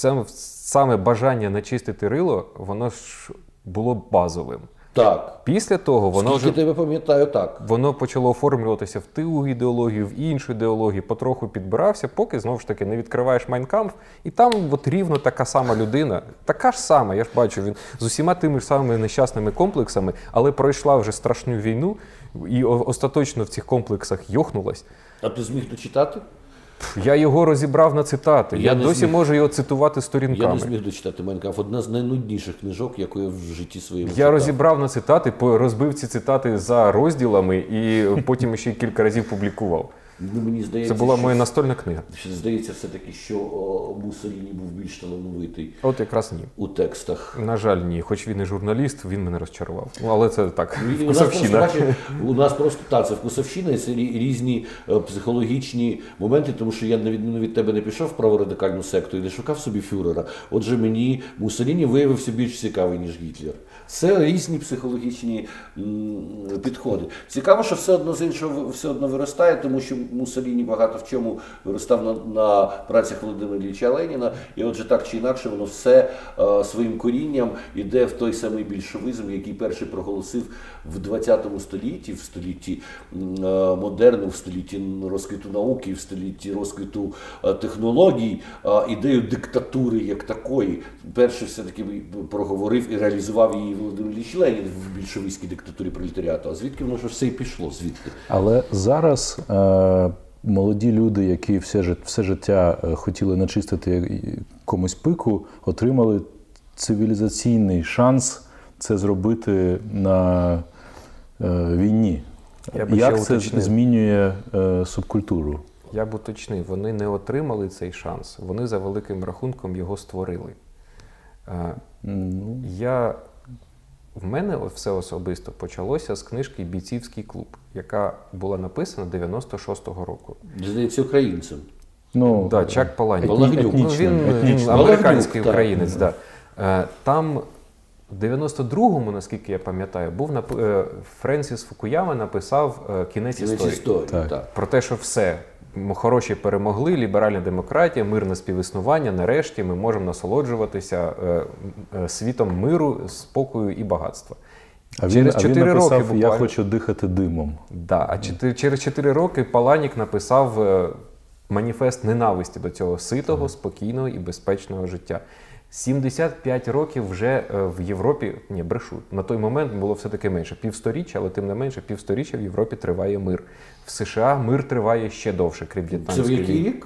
саме бажання начистити рило, воно ж було базовим. Так. Після того воно тебе пам'ятаю, так. Воно почало оформлюватися в ту ідеологію, в іншу ідеологію, потроху підбирався, поки, знову ж таки, не відкриваєш Майнкамф, і там рівно така сама людина, така ж сама, я ж бачу, він з усіма тими ж самими нещасними комплексами, але пройшла вже страшну війну, і остаточно в цих комплексах йохнулась. А ти зміг дочитати? Я його розібрав на цитати. Я досі можу його цитувати сторінками. Я не зміг дочитати Майнкамф. Одна з найнудніших книжок, яку я в житті своєму читав. Я розібрав на цитати, розбив ці цитати за розділами і потім ще кілька разів публікував. Мені здається, це була моя настольна книга. Здається все-таки, що Муссоліні був більш талановитий. От якраз ні. У текстах. На жаль, ні. Хоч він і журналіст, він мене розчарував. Але це так, вкусовщина. У нас просто це вкусовщина, і це різні психологічні моменти, тому що я, на відміну від тебе, не пішов в праворадикальну секту і не шукав собі фюрера. Отже, мені Муссоліні виявився більш цікавий, ніж Гітлер. Це різні психологічні підходи. Цікаво, що все одно з іншого все одно виростає, тому що Муссоліні багато в чому виростав на працях Володимира Ілліча Леніна, і отже так чи інакше воно все своїм корінням іде в той самий більшовизм, який перший проголосив в 20 столітті, в столітті модерну, в столітті розквіту науки, в столітті розквіту технологій, ідею диктатури як такої. Перший все-таки проговорив і реалізував її Володимир Ілліч Ленін в більшовицькій диктатурі пролетаріату. А звідки воно ж все і пішло? Звідки? Але зараз молоді люди, які все життя хотіли начистити комусь пику, отримали цивілізаційний шанс це зробити на війні. Як це змінює субкультуру? Я б уточнив, вони не отримали цей шанс, вони за великим рахунком його створили. В мене все особисто почалося з книжки «Бійцівський клуб», яка була написана 96-го року. Здається, українцем. Чак Паланюк. Він американський українець. Да. Там в 92-му, наскільки я пам'ятаю, Френсіс Фукуяма написав «Кінець історії». Про те, що все. Хороші перемогли, ліберальна демократія, мирне співіснування, нарешті ми можемо насолоджуватися світом миру, спокою і багатства. Він написав, я хочу дихати димом. А через 4 роки Паланік написав маніфест ненависті до цього ситого, спокійного і безпечного життя. 75 років вже в Європі, брешу, на той момент було все-таки менше, півсторіччя, але тим не менше півсторіччя в Європі триває мир. В США мир триває ще довше, крім В'єтнамської війни. Це в який рік?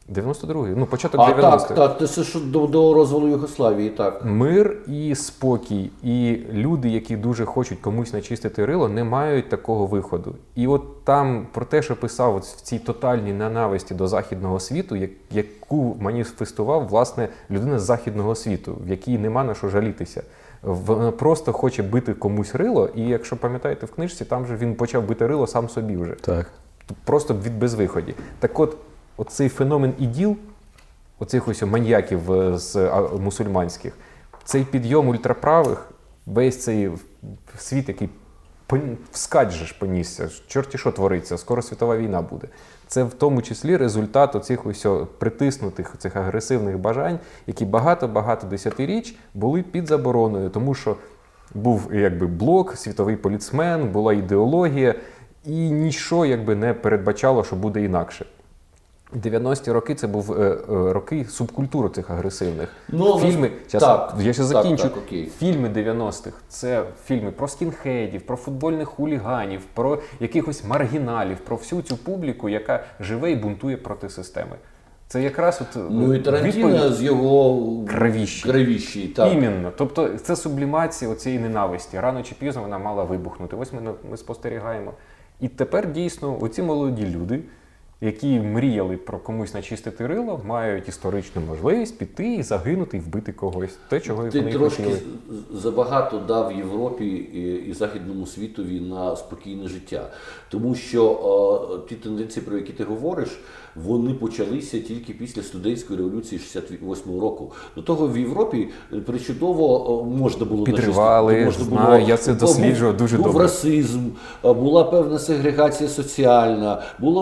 92-й, ну початок 90-х. Так, це ж до розвалу Югославії, так. Мир і спокій, і люди, які дуже хочуть комусь начистити рило, не мають такого виходу. І от там про те, що писав от в цій тотальній ненависті до західного світу, яку маніфестував, власне, людина з західного світу, в якій нема на що жалітися. Вона просто хоче бити комусь рило, і якщо пам'ятаєте в книжці, там же він почав бити рило сам собі вже. Так. Просто від безвиході. Так от, оцей феномен іділ, оцих ось маньяків з мусульманських, цей підйом ультраправих, весь цей світ, який вскаче ж понісся, чорті що твориться, скоро світова війна буде. Це в тому числі результат оцих ось притиснутих, цих агресивних бажань, які багато-багато десятиріч були під забороною, тому що був якби блок, світовий поліцмен, була ідеологія, і нічого якби не передбачало, що буде інакше. 90-ті роки це був роки субкультури цих агресивних. Фільми, я ще закінчу. Фільми 90-х – це фільми про скінхедів, про футбольних хуліганів, про якихось маргіналів, про всю цю публіку, яка живе і бунтує проти системи. Це якраз от і Тарантіно з його кривіщі. Іменно. Тобто це сублімація оцієї ненависті. Рано чи пізно вона мала вибухнути. Ось ми спостерігаємо. І тепер дійсно оці молоді люди, які мріяли про комусь начистити рило, мають історичну можливість піти і загинути, і вбити когось. Те, чого вони хотіли. Ти трошки забагато дав Європі і західному світові на спокійне життя. Тому що ті тенденції, про які ти говориш, вони почалися тільки після студентської революції 68-го року. До того в Європі причудово можна було підривали, я це досліджував дуже добре. Був расизм, була певна сегрегація соціальна,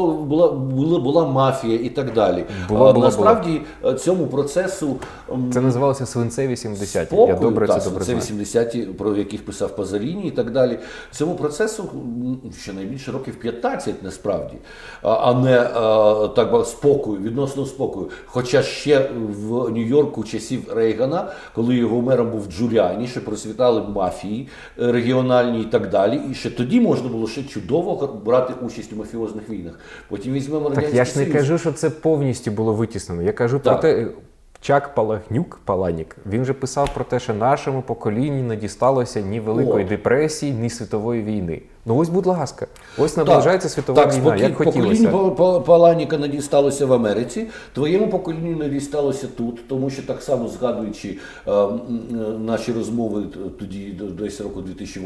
була мафія і так далі. Насправді цьому процесу... Це називалося свинцеві 70-ті. Я добре це знаю. 70-ті, про яких писав Пазоліні і так далі. Цьому процесу щонайбільше років 15 насправді, а не так спокою, відносно спокою. Хоча ще в Нью-Йорку часів Рейгана, коли його мером був Джуліані, ще процвітали мафії регіональні і так далі, і ще тоді можна було ще чудово брати участь у мафіозних війнах. Потім візьмемо Радянський Союз. Так я ж не кажу, що це повністю було витіснено. Я кажу про те, Чак Паланюк, він же писав про те, що нашому поколінню не дісталося ні Великої депресії, ні світової війни. Ну ось, будь ласка, ось наближається світова війна, як хотілося. Поколінню Паланіка не дісталося в Америці, твоєму поколінню не дісталося тут, тому що так само згадуючи наші розмови тоді, десь року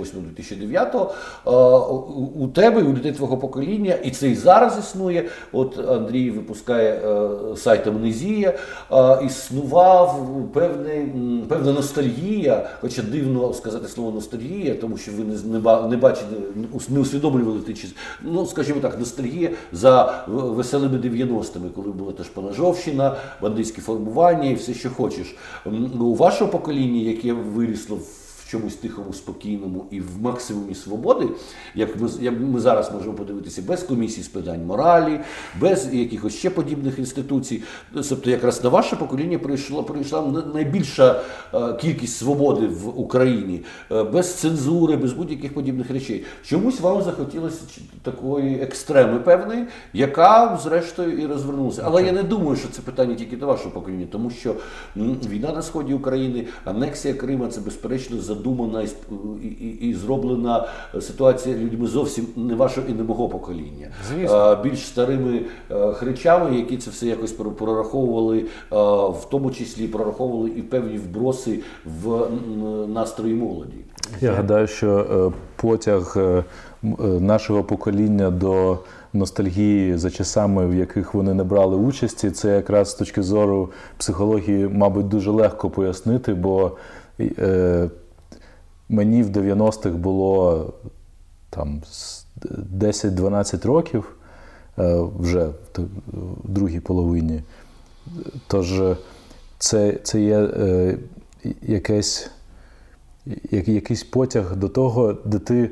2008-2009, у тебе, у людей твого покоління, і це і зараз існує, от Андрій випускає сайт Амнезія, існував певна ностальгія, хоча дивно сказати слово ностальгія, тому що ви не бачите, не усвідомлювали ті часи. Ну, скажімо так, ностальгія за веселими 90-ми, коли була теж Панажовщина, бандитські формування і все, що хочеш. У вашого покоління, яке вирісло в чомусь тихому, спокійному і в максимумі свободи, як ми зараз можемо подивитися, без комісії з питань моралі, без якихось ще подібних інституцій. Тобто якраз на ваше покоління прийшла найбільша кількість свободи в Україні, без цензури, без будь-яких подібних речей. Чомусь вам захотілося такої екстреми певної, яка зрештою і розвернулася. Але я не думаю, що це питання тільки до вашого покоління, тому що війна на сході України, анексія Крима – це безперечно задумана і зроблена ситуація людьми зовсім не вашого і не мого покоління. Звісно. Більш старими хричами, які це все якось прораховували, в тому числі прораховували і певні вброси в настрої молоді. Я гадаю, що потяг нашого покоління до ностальгії за часами, в яких вони не брали участі, це якраз з точки зору психології, мабуть, дуже легко пояснити, бо мені в 90-х було там 10-12 років, вже в другій половині. Тож це є якийсь потяг до того, де ти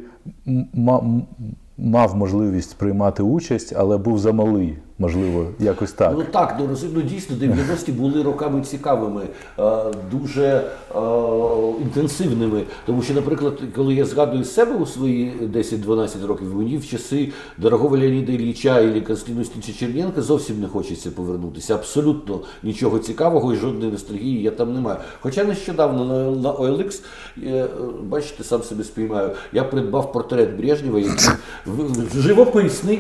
мав можливість приймати участь, але був замалий, можливо, якось так. Ну так, дійсно, 90-ті були роками цікавими. Дуже інтенсивними. Тому що, наприклад, коли я згадую себе у свої 10-12 років, мені в часи дорогого Леоніда Ілліча і Константина Черненка зовсім не хочеться повернутися. Абсолютно нічого цікавого і жодної ностальгії я там не маю. Хоча нещодавно на OLX, бачите, сам себе спіймаю, я придбав портрет Брежнєва, який живописний,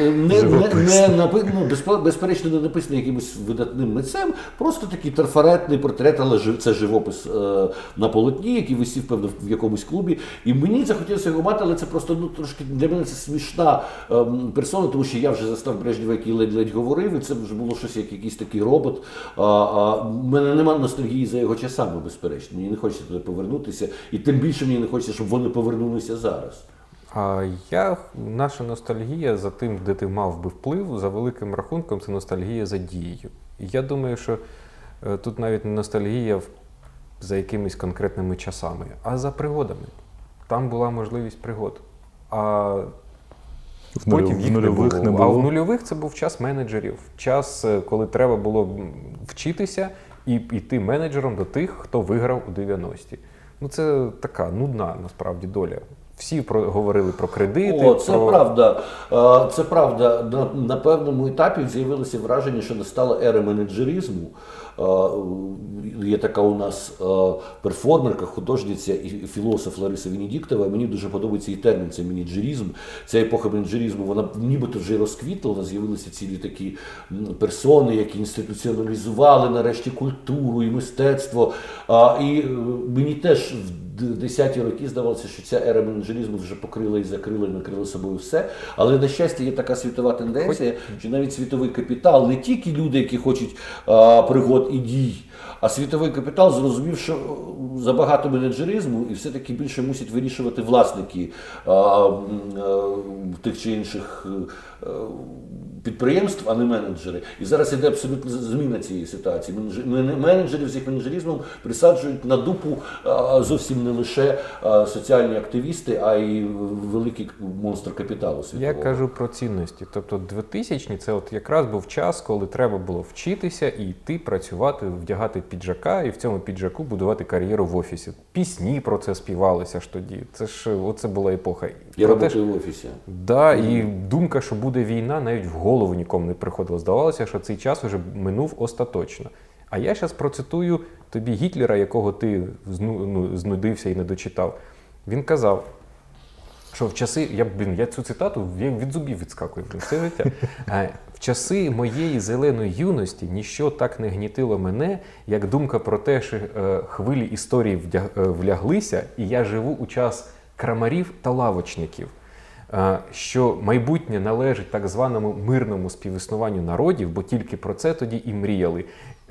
безперечно не написаний якимось видатним митцем, просто такий трафаретний портрет, але це живопис на полотні, який висів, певно, в якомусь клубі. І мені захотілося його мати, але це просто трошки для мене це смішна персона, тому що я вже застав Брежнєва, який ледь-ледь говорив, і це вже було щось як якийсь такий робот. У мене немає ностальгії за його часами, безперечно. Мені не хочеться туди повернутися, і тим більше мені не хочеться, щоб вони повернулися зараз. Наша ностальгія за тим, де ти мав би вплив, за великим рахунком, це ностальгія за дією. І я думаю, що тут навіть не ностальгія за якимись конкретними часами, а за пригодами. Там була можливість пригод. А потім їх не було. А в нульових це був час менеджерів. Час, коли треба було вчитися і йти менеджером до тих, хто виграв у 90-ті. Це така нудна, насправді, доля. Всі говорили про кредити. Це правда. На певному етапі з'явилося враження, що настала ера менеджеризму. Є така у нас перформерка, художниця і філософ Лариса Венедіктова. Мені дуже подобається її термін, це менеджеризм. Ця епоха менеджеризму, вона нібито вже розквітла, у нас з'явилися цілі такі персони, які інституціоналізували нарешті культуру і мистецтво. І мені теж в 10-ті роки здавалося, що ця ера менеджеризму вже покрила і закрила, і накрила собою все. Але, на щастя, є така світова тенденція, що навіть світовий капітал, не тільки люди, які хочуть пригод і дій, а світовий капітал зрозумів, що забагато менеджеризму і все-таки більше мусять вирішувати власники тих чи інших підприємств, а не менеджери. І зараз іде абсолютно зміна цієї ситуації. Менеджерів з їх менеджеризмом присаджують на дупу зовсім не лише соціальні активісти, а й великий монстр капіталу світового. Я кажу про цінності. Тобто 2000-ні це от якраз був час, коли треба було вчитися і йти працювати, вдягати піджака і в цьому піджаку будувати кар'єру в офісі. Пісні про це співалися ж тоді. Оце була епоха. Я працюю в офісі. Да, і думка, що буде війна, навіть в голову нікому не приходило. Здавалося, що цей час вже минув остаточно. А я зараз процитую тобі Гітлера, якого ти знудився і не дочитав. Він казав, що в часи, я цю цитату від зубів відскакую все життя. В часи моєї зеленої юності ніщо так не гнітило мене, як думка про те, що хвилі історії вляглися, і я живу у час крамарів та лавочників. Що майбутнє належить так званому мирному співіснуванню народів, бо тільки про це тоді і мріяли.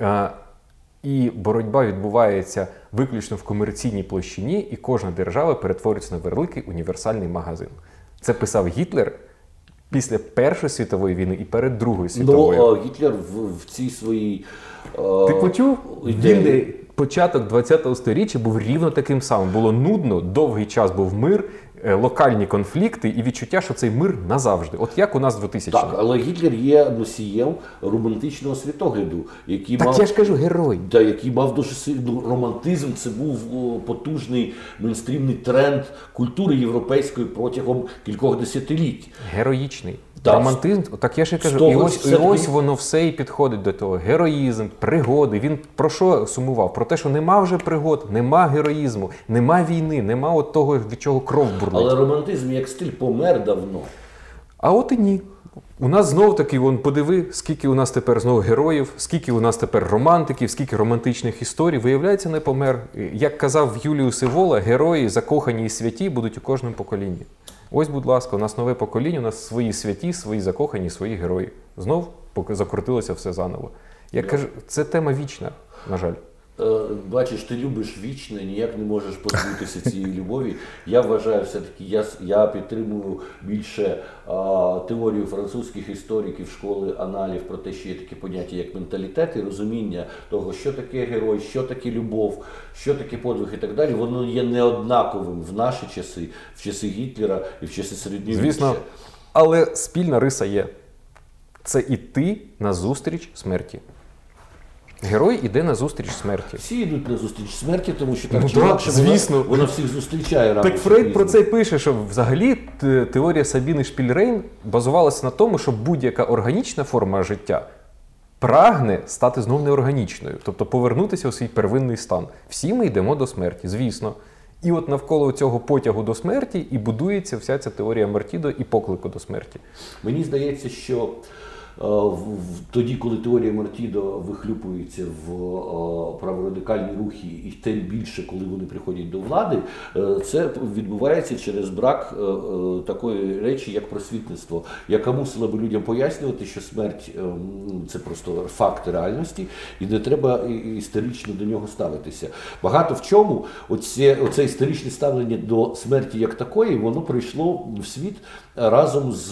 І боротьба відбувається виключно в комерційній площині, і кожна держава перетворюється на великий універсальний магазин. Це писав Гітлер після Першої світової війни і перед Другою світовою. Гітлер в цій своїй Ти почув? Він початок 20-го сторіччя був рівно таким самим. Було нудно, довгий час був мир, локальні конфлікти і відчуття, що цей мир назавжди. От як у нас 2000-ні. Так, але Гітлер є носієм романтичного світогляду, який я ж кажу, герой. Який мав дуже сильний романтизм. Це був потужний мейнстрімний тренд культури європейської протягом кількох десятиліть. Героїчний. Романтизм, так я ж і кажу, і ось воно все і підходить до того. Героїзм, пригоди. Він про що сумував? Про те, що нема вже пригод, нема героїзму, нема війни, нема от того, від чого кров бурлить. Але романтизм як стиль помер давно. А от і ні. У нас знову таки, подиви, скільки у нас тепер знову героїв, скільки у нас тепер романтиків, скільки романтичних історій. Виявляється, не помер. Як казав Юліус Івола, герої, закохані і святі будуть у кожному поколінні. Ось, будь ласка, у нас нове покоління, у нас свої святі, свої закохані, свої герої. Знов закрутилося все заново. Я кажу, це тема вічна, на жаль. Бачиш, ти любиш вічне, ніяк не можеш позбутися цієї любові. Я вважаю, все-таки, я підтримую більше теорію французьких істориків школи аналів про те, що є таке поняття, як менталітет і розуміння того, що таке герой, що таке любов, що таке подвиг і так далі. Воно є неоднаковим в наші часи, в часи Гітлера і в часи середньовіччя. Звісно, але спільна риса є. Це іти назустріч смерті. Герой іде на зустріч смерті. Всі йдуть на зустріч смерті, тому що так Ну, чи так, інакше звісно. вона всіх зустрічає рано. Так чи Фрейд про пізно. це й пише, що взагалі теорія Сабіни Шпільрейн базувалася на тому, що будь-яка органічна форма життя прагне стати знов неорганічною, тобто повернутися у свій первинний стан. Всі ми йдемо до смерті, звісно. І от навколо цього потягу до смерті і будується вся ця теорія Мартідо і поклику до смерті. Мені здається, що тоді, коли теорія Мартідо вихлюпується в праворадикальні рухи, і тим більше, коли вони приходять до влади, це відбувається через брак такої речі, як просвітництво, яка мусила би людям пояснювати, що смерть – це просто факт реальності, і не треба історично до нього ставитися. Багато в чому оце історичне ставлення до смерті як такої, воно прийшло в світ разом з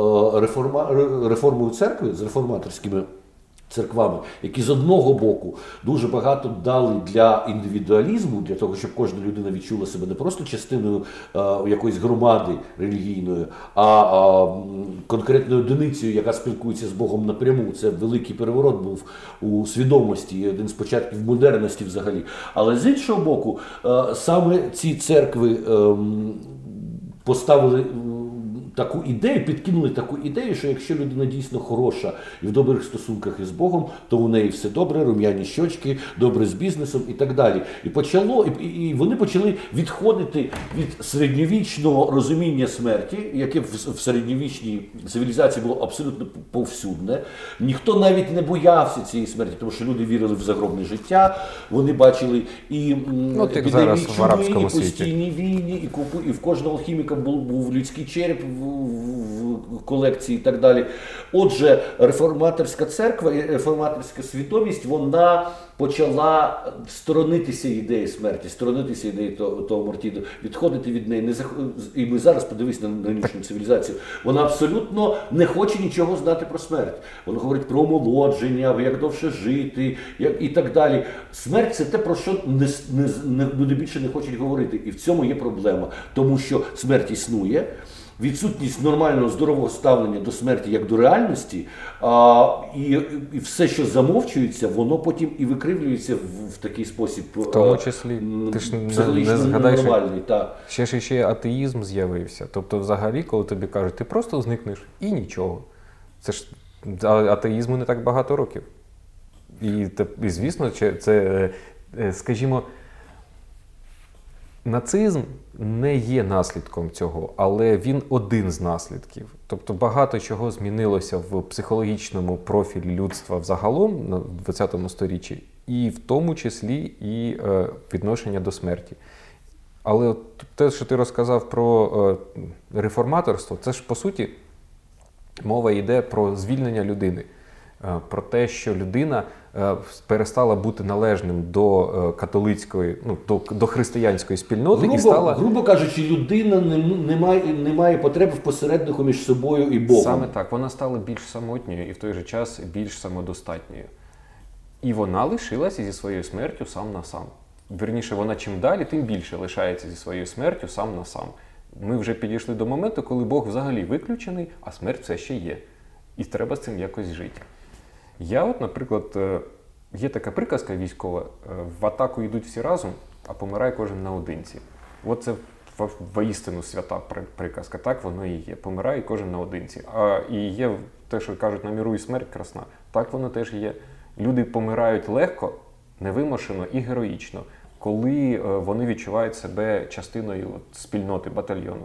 реформою церкви, з реформаторськими церквами, які з одного боку дуже багато дали для індивідуалізму, для того, щоб кожна людина відчула себе не просто частиною якоїсь громади релігійної, а конкретною одиницею, яка спілкується з Богом напряму. Це великий переворот був у свідомості, один з початків модерності взагалі. Але з іншого боку, саме ці церкви поставили таку ідею, підкинули таку ідею, що якщо людина дійсно хороша і в добрих стосунках із Богом, то у неї все добре, рум'яні щочки, добре з бізнесом і так далі. І вони почали відходити від середньовічного розуміння смерті, яке в середньовічній цивілізації було абсолютно повсюдне. Ніхто навіть не боявся цієї смерті, тому що люди вірили в загробне життя, вони бачили і епідемії чуми, і постійні війни, і в кожного алхіміка був людський череп в колекції і так далі. Отже, реформаторська церква і реформаторська свідомість, вона почала сторонитися ідеї смерті, сторонитися ідеї того Мартідо, відходити від неї. І ми зараз подивись на нинішню цивілізацію. Вона абсолютно не хоче нічого знати про смерть. Вона говорить про омолодження, як довше жити і так далі. Смерть – це те, про що люди більше не хочуть говорити. І в цьому є проблема. Тому що смерть існує, відсутність нормального, здорового ставлення до смерті як до реальності, і все, що замовчується, воно потім і викривлюється в такий спосіб. В тому числі, ти ж не згадаєш, ще атеїзм з'явився. Тобто взагалі, коли тобі кажуть, ти просто зникнеш і нічого. Це ж атеїзму не так багато років. І звісно, це, скажімо, нацизм не є наслідком цього, але він один з наслідків. Тобто багато чого змінилося в психологічному профілі людства взагалом на 20 сторіччі, і в тому числі і відношення до смерті. Але от те, що ти розказав про реформаторство, це ж, по суті, мова йде про звільнення людини. Про те, що людина перестала бути належним до католицької, до християнської спільноти і стала... Грубо кажучи, людина не має потреби в посереднику між собою і Богом. Саме так. Вона стала більш самотньою і в той же час більш самодостатньою. І вона лишилася зі своєю смертю сам на сам. Вірніше, вона чим далі, тим більше лишається зі своєю смертю сам на сам. Ми вже підійшли до моменту, коли Бог взагалі виключений, а смерть все ще є. І треба з цим якось жити. Я от, наприклад, є така приказка військова, в атаку йдуть всі разом, а помирає кожен наодинці. От це воістину свята приказка, так воно і є. Помирає кожен наодинці. І є те, що кажуть, на міру і смерть красна. Так воно теж є. Люди помирають легко, невимушено і героїчно, коли вони відчувають себе частиною спільноти, батальйону.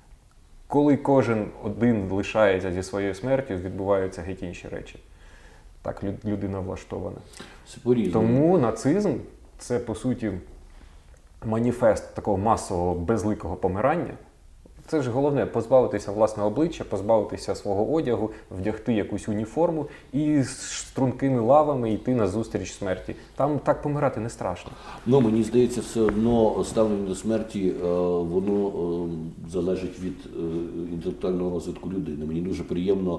Коли кожен один лишається зі своєю смертю, відбуваються геть інші речі. Так людина влаштована. Тому нацизм – це, по суті, маніфест такого масового, безликого помирання. Це ж головне – позбавитися власного обличчя, позбавитися свого одягу, вдягти якусь уніформу і з стрункими лавами йти на зустріч смерті. Там так помирати не страшно. Мені здається, все одно ставлення до смерті, воно залежить від інтелектуального розвитку людини. Мені дуже приємно,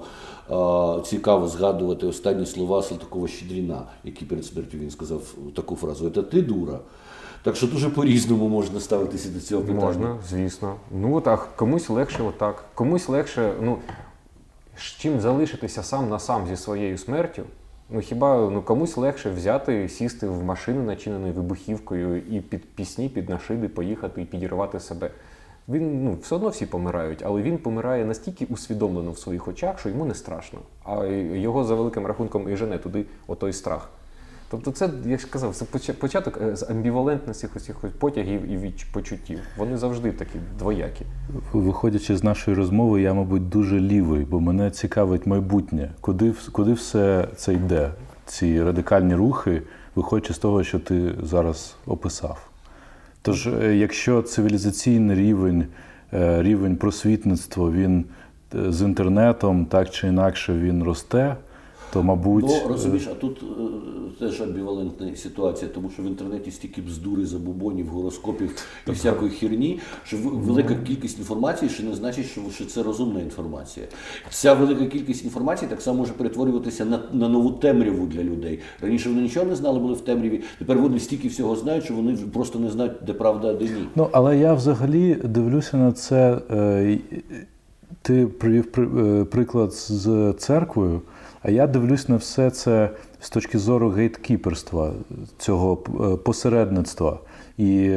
цікаво згадувати останні слова Салтикова-Щедріна, які перед смертю він сказав таку фразу: «Це ти, дура». Так що дуже по-різному можна ставитися до цього питання. Можна, звісно. Так, комусь легше отак. Комусь легше, чим залишитися сам на сам зі своєю смертю, Ну хіба комусь легше взяти, сісти в машину, начинену вибухівкою, і під пісні, під нашиди поїхати і підірвати себе? Він, все одно всі помирають, але він помирає настільки усвідомлено в своїх очах, що йому не страшно. А його за великим рахунком і жене туди отой страх. Тобто це, як я сказав, це початок з амбівалентності усіх потягів і почуттів. Вони завжди такі двоякі. Виходячи з нашої розмови, я, мабуть, дуже лівий, бо мене цікавить майбутнє. Куди все це йде? Ці радикальні рухи, виходячи з того, що ти зараз описав. Тож, якщо цивілізаційний рівень просвітництва, він з інтернетом так чи інакше він росте, то, мабуть... Ну, розумієш, а тут теж амбівалентна ситуація, тому що в інтернеті стільки бздури, забобонів, гороскопів і всякої херні, що велика кількість інформації ще не значить, що це розумна інформація. Ця велика кількість інформації так само може перетворюватися на нову темряву для людей. Раніше вони нічого не знали, були в темряві, тепер вони стільки всього знають, що вони просто не знають, де правда, а де ні. Ну, але я взагалі дивлюся на це, ти привів приклад з церквою, а я дивлюсь на все це з точки зору гейткіперства, цього посередництва. І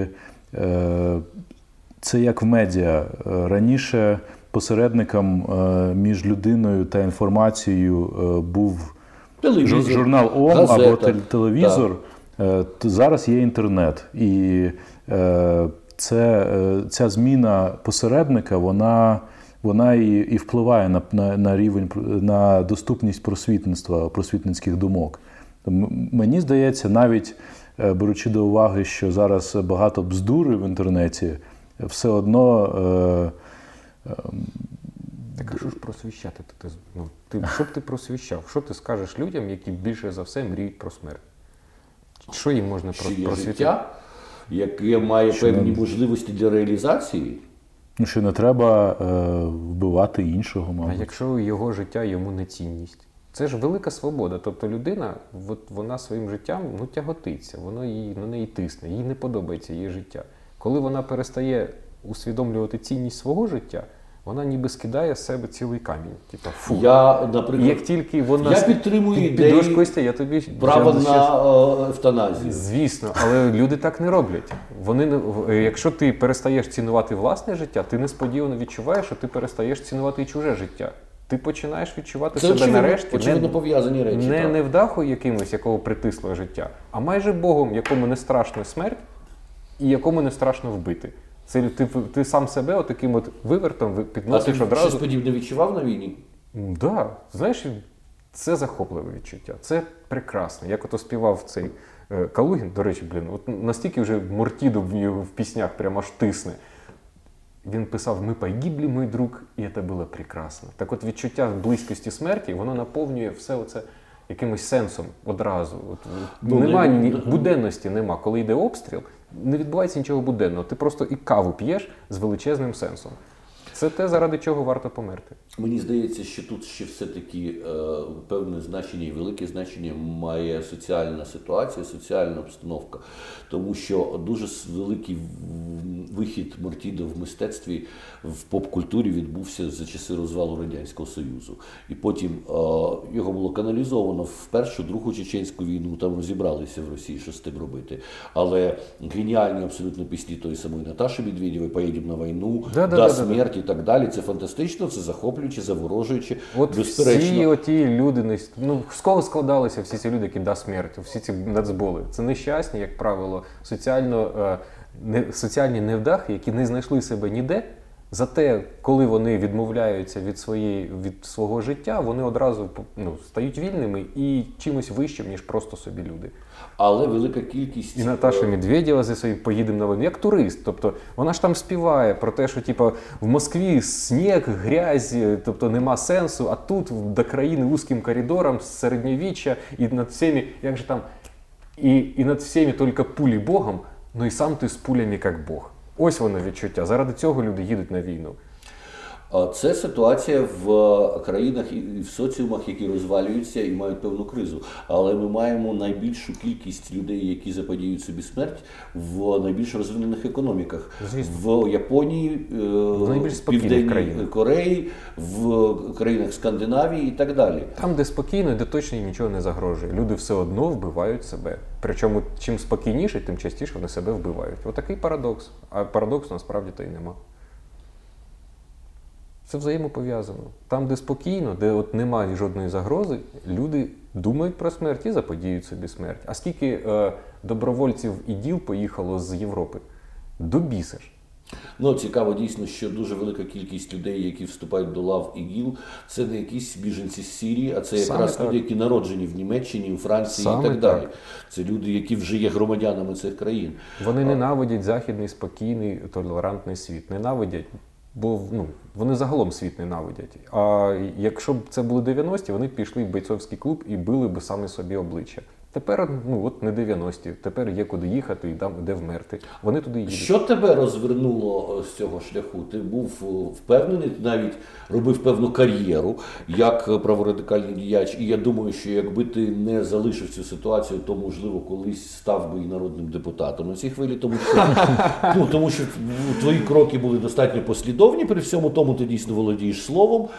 це як в медіа. Раніше посередником між людиною та інформацією був Телевізор, журнал ОМ газета, або телевізор. Зараз є інтернет. І ця зміна посередника, вона і впливає на рівень, на доступність просвітництва, просвітницьких думок. Мені здається, навіть беручи до уваги, що зараз багато бздури в інтернеті, все одно... Так а що ж просвіщати? Що б ти просвіщав? Що ти скажеш людям, які більше за все мріють про смерть? Що їм можна просвітити? Життя, яке має певні можливості для реалізації. Ну, що не треба вбивати іншого, мабуть. А якщо його життя йому не цінність? Це ж велика свобода. Тобто людина, вона своїм життям тяготиться, воно на неї тисне, їй не подобається її життя. Коли вона перестає усвідомлювати цінність свого життя, вона ніби скидає з себе цілий камінь. Типа, фу. Наприклад, як тільки вона підтримую ідею Костя, я тобі право на евтаназію. Звісно, але люди так не роблять. Якщо ти перестаєш цінувати власне життя, ти несподівано відчуваєш, що ти перестаєш цінувати і чуже життя. Ти починаєш відчувати себе нарешті пов'язані речі, не невдаху якимось, якого притисло життя, а майже Богом, якому не страшно смерть і якому не страшно вбити. Це ти сам себе отаким вивертом підносиш одразу. А ти щось подібне відчував на війні? Так. Знаєш, це захопливе відчуття. Це прекрасно. Як ото співав цей Калугін, до речі, настільки вже Мортіду в піснях прямо аж тисне. Він писав «Ми погибли, мой друг, і це було прекрасно». Так от відчуття близькості смерті, воно наповнює все оце якимось сенсом одразу. Буденності нема. Коли йде обстріл, не відбувається нічого буденного. Ти просто і каву п'єш з величезним сенсом. Це те, заради чого варто померти. Мені здається, що тут ще все-таки певне значення і велике значення має соціальна ситуація, соціальна обстановка. Тому що дуже великий вихід Мортіда в мистецтві, в поп-культурі відбувся за часи розвалу Радянського Союзу. І потім його було каналізовано в Першу, Другу Чеченську війну, там розібралися в Росії, що з тим робити. Але геніальні абсолютно пісні тої самої Наташі Медведєвої «Поїдемо на війну», «Да, смерть» і так далі. Це фантастично, це захоплююче, заворожуюче, безперечно. Всі оті люди, з кого складалися всі ці люди, які «Да, смерть», всі ці нацболи? Це нещасні, як правило, соціальні невдахи, які не знайшли себе ніде. Зате, коли вони відмовляються від свого життя, вони одразу стають вільними і чимось вищим, ніж просто собі люди. Але велика кількість... І Наташа Медведєва зі своїм «Поїдемо на війну» як турист. Тобто вона ж там співає про те, що в Москві сніг, грязь, тобто нема сенсу, а тут до країни вузьким коридором, з середньовіччя, і над всіми, як же там, і над всіми тільки пулі Богом, і сам ти з пулями як Бог. Ось воно відчуття. Заради цього люди їдуть на війну. Це ситуація в країнах і в соціумах, які розвалюються і мають певну кризу. Але ми маємо найбільшу кількість людей, які заподіють собі смерть в найбільш розвинених економіках. Звісно. В Японії, в Південній Кореї, в країнах Скандинавії і так далі. Там, де спокійно, де точно їм нічого не загрожує. Люди все одно вбивають себе. Причому чим спокійніше, тим частіше вони себе вбивають. Отакий парадокс. А парадоксу насправді то й нема. Це взаємопов'язано. Там, де спокійно, де от немає жодної загрози, люди думають про смерть і заподіють собі смерть. А скільки добровольців ІДІЛ поїхало з Європи? До біса ж. Ну, цікаво дійсно, що дуже велика кількість людей, які вступають до лав ІГІЛ, це не якісь біженці з Сирії, а це якраз люди, які народжені в Німеччині, у Франції Саме і так далі. Це люди, які вже є громадянами цих країн. Вони ненавидять західний, спокійний, толерантний світ. Ненавидять, бо вони загалом світ ненавидять. А якщо б це були 90-ті, вони б пішли в бойцовський клуб і били б самі собі обличчя. Тепер, от не 90-ті, тепер є куди їхати і де вмерти. Вони туди їдуть. Що тебе розвернуло з цього шляху? Ти був впевнений, ти навіть робив певну кар'єру як праворадикальний діяч. І я думаю, що якби ти не залишив цю ситуацію, то, можливо, колись став би і народним депутатом на цій хвилі. Тому що твої кроки були достатньо послідовні, при всьому тому ти дійсно володієш словом,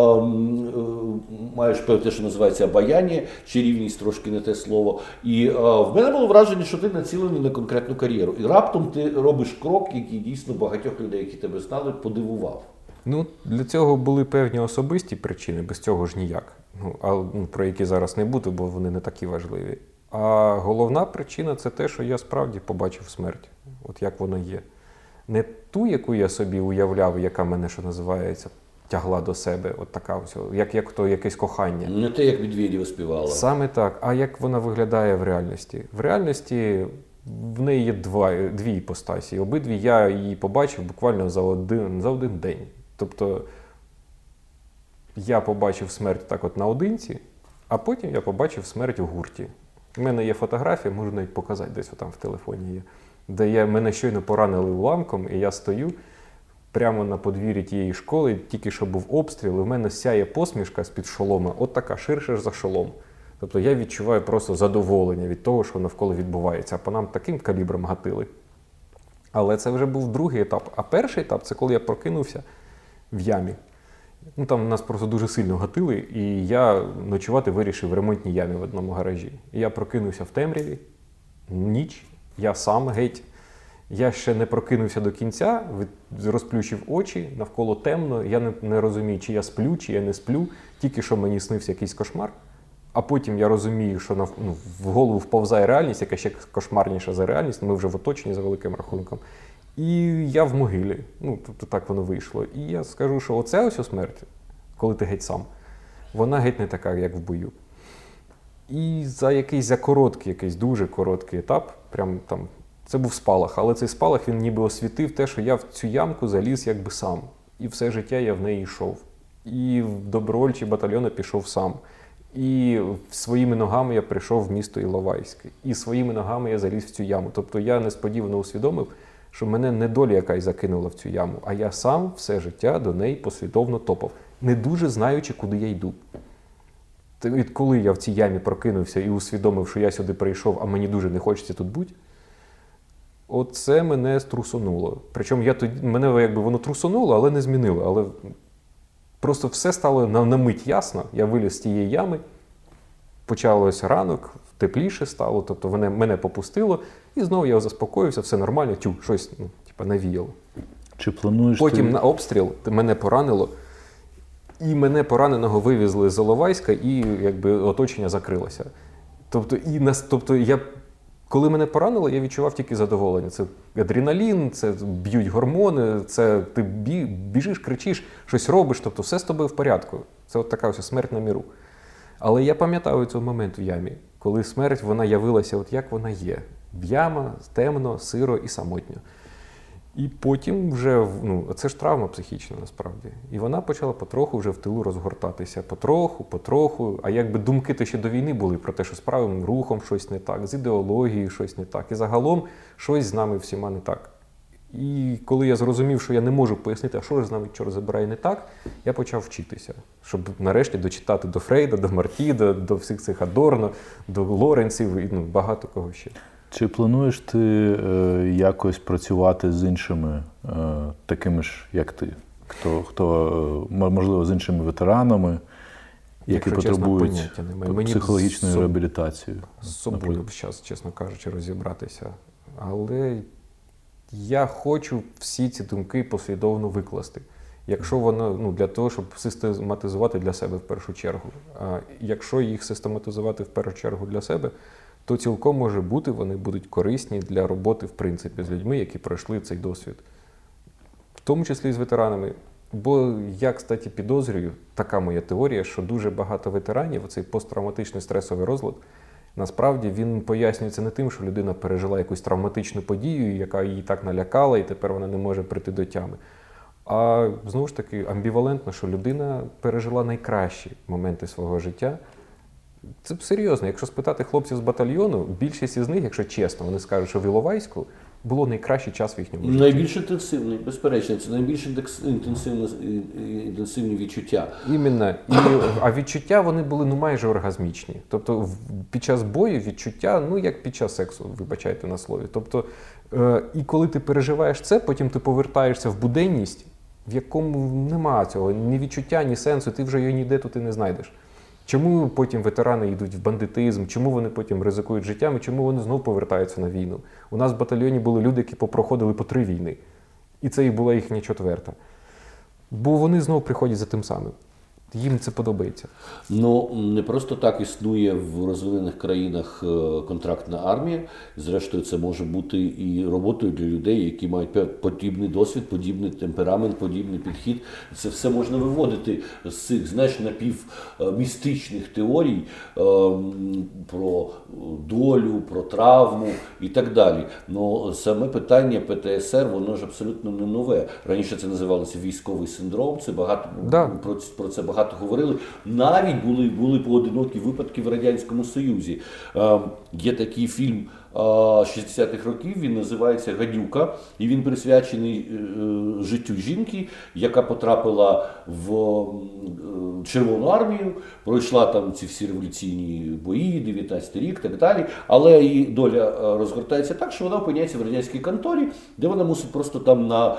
маєш те, що називається обаяння, чарівність, трошки не те слово. І в мене було враження, що ти націлений на конкретну кар'єру. І раптом ти робиш крок, який дійсно багатьох людей, які тебе знали, подивував. Для цього були певні особисті причини, без цього ж ніяк. Про які зараз не буду, бо вони не такі важливі. А головна причина – це те, що я справді побачив смерть. От як воно є. Не ту, яку я собі уявляв, яка мене, що називається, тягла до себе, от така ось, як то якесь кохання. Не те, як Медведєва співала. Саме так. А як вона виглядає в реальності? В реальності в неї є дві іпостасі. Обидві я її побачив буквально за один день. Тобто я побачив смерть так от наодинці, а потім я побачив смерть у гурті. У мене є фотографія, можу навіть показати, десь там в телефоні є, де мене щойно поранили уламком, і я стою прямо на подвір'ї тієї школи, тільки що був обстріл, і в мене сяє посмішка з-під шолома, от така, ширше за шолом. Тобто я відчуваю просто задоволення від того, що навколо відбувається. А по нам таким калібром гатили. Але це вже був другий етап. А перший етап – це коли я прокинувся в ямі. Там нас просто дуже сильно гатили, і я ночувати вирішив в ремонтній ямі в одному гаражі. І я прокинувся в темряві, ніч, я сам геть. Я ще не прокинувся до кінця, розплющив очі, навколо темно, я не розумію, чи я сплю, чи я не сплю, тільки що мені снився якийсь кошмар. А потім я розумію, що в голову вповзає реальність, яка ще кошмарніша за реальність, ми вже в оточенні за великим рахунком. І я в могилі, тобто так воно вийшло. І я скажу, що оце ось смерть, коли ти геть сам, вона геть не така, як в бою. І за короткий, дуже короткий етап, прям там, це був спалах, але цей спалах, він ніби освітив те, що я в цю ямку заліз якби сам. І все життя я в неї йшов. І в добровольчі батальйони пішов сам. І своїми ногами я прийшов в місто Іловайське. І своїми ногами я заліз в цю яму. Тобто я несподівано усвідомив, що мене не доля якась закинула в цю яму, а я сам все життя до неї послідовно топав, не дуже знаючи, куди я йду. І коли я в цій ямі прокинувся і усвідомив, що я сюди прийшов, а мені дуже не хочеться тут бути, оце мене струсонуло. Причому мене воно трусонуло, але не змінило. Але просто все стало на мить ясно. Я виліз з тієї ями, почалось ранок, тепліше стало, тобто мене попустило, і знову я заспокоївся, все нормально, щось навіяло. Чи плануєш Потім на обстріл мене поранило, і мене пораненого вивезли з Іловайська, і оточення закрилося. Коли мене поранило, я відчував тільки задоволення. Це адреналін, це б'ють гормони, це ти біжиш, кричиш, щось робиш, тобто все з тобою в порядку. Це от така ось смерть на міру. Але я пам'ятаю цей момент в ямі, коли смерть, вона явилася от як вона є. Яма, темно, сиро і самотньо. І потім вже, це ж травма психічна насправді. І вона почала потроху вже в тилу розгортатися. Потроху. А якби думки то ще до війни були про те, що з правим рухом щось не так, з ідеологією щось не так. І загалом щось з нами всіма не так. І коли я зрозумів, що я не можу пояснити, а що ж з нами чорт забирає не так, я почав вчитися, щоб нарешті дочитати до Фрейда, до Марті, до всіх цих Адорно, до Лоренців і багато кого ще. Чи плануєш ти якось працювати з іншими такими ж, як ти? Хто можливо, з іншими ветеранами, які потребують психологічної реабілітації? З собою зараз, чесно кажучи, розібратися. Але я хочу всі ці думки послідовно викласти. Якщо воно, для того, щоб систематизувати для себе в першу чергу. А якщо їх систематизувати в першу чергу для себе, то цілком може бути, вони будуть корисні для роботи, в принципі, з людьми, які пройшли цей досвід. В тому числі і з ветеранами. Бо я, кстати, підозрюю, така моя теорія, що дуже багато ветеранів, оцей посттравматичний стресовий розлад, насправді він пояснюється не тим, що людина пережила якусь травматичну подію, яка її так налякала, і тепер вона не може прийти до тями. А, знову ж таки, амбівалентно, що людина пережила найкращі моменти свого життя. Це серйозно. Якщо спитати хлопців з батальйону, більшість із них, якщо чесно, вони скажуть, що в Іловайську було найкращий час в їхньому житті. Найбільш інтенсивний, безперечно, це найбільш інтенсивні відчуття. Іменно. А відчуття вони були майже оргазмічні. Тобто під час бою відчуття, як під час сексу, вибачайте на слові. Тобто, і коли ти переживаєш це, потім ти повертаєшся в буденність, в якому нема цього ні відчуття, ні сенсу, ти вже його ніде тут і не знайдеш. Чому потім ветерани йдуть в бандитизм, чому вони потім ризикують життям і чому вони знову повертаються на війну? У нас в батальйоні були люди, які попроходили по 3 війни. І це і була їхня 4-та. Бо вони знову приходять за тим самим. Їм це подобається. Не просто так існує в розвинених країнах контрактна армія. Зрештою, це може бути і роботою для людей, які мають подібний досвід, подібний темперамент, подібний підхід. Це все можна виводити з цих, напівмістичних теорій про долю, про травму і так далі. Но саме питання ПТСР, воно ж абсолютно не нове. Раніше це називалося військовий синдром, це про це багато говорили. Навіть були поодинокі випадки в Радянському Союзі. Є такий фільм 60-х років, він називається «Гадюка», і він присвячений життю жінки, яка потрапила в Червону армію, пройшла там ці всі революційні бої, 19-й рік і так далі, але її доля розгортається так, що вона опиняється в радянській конторі, де вона мусить просто там на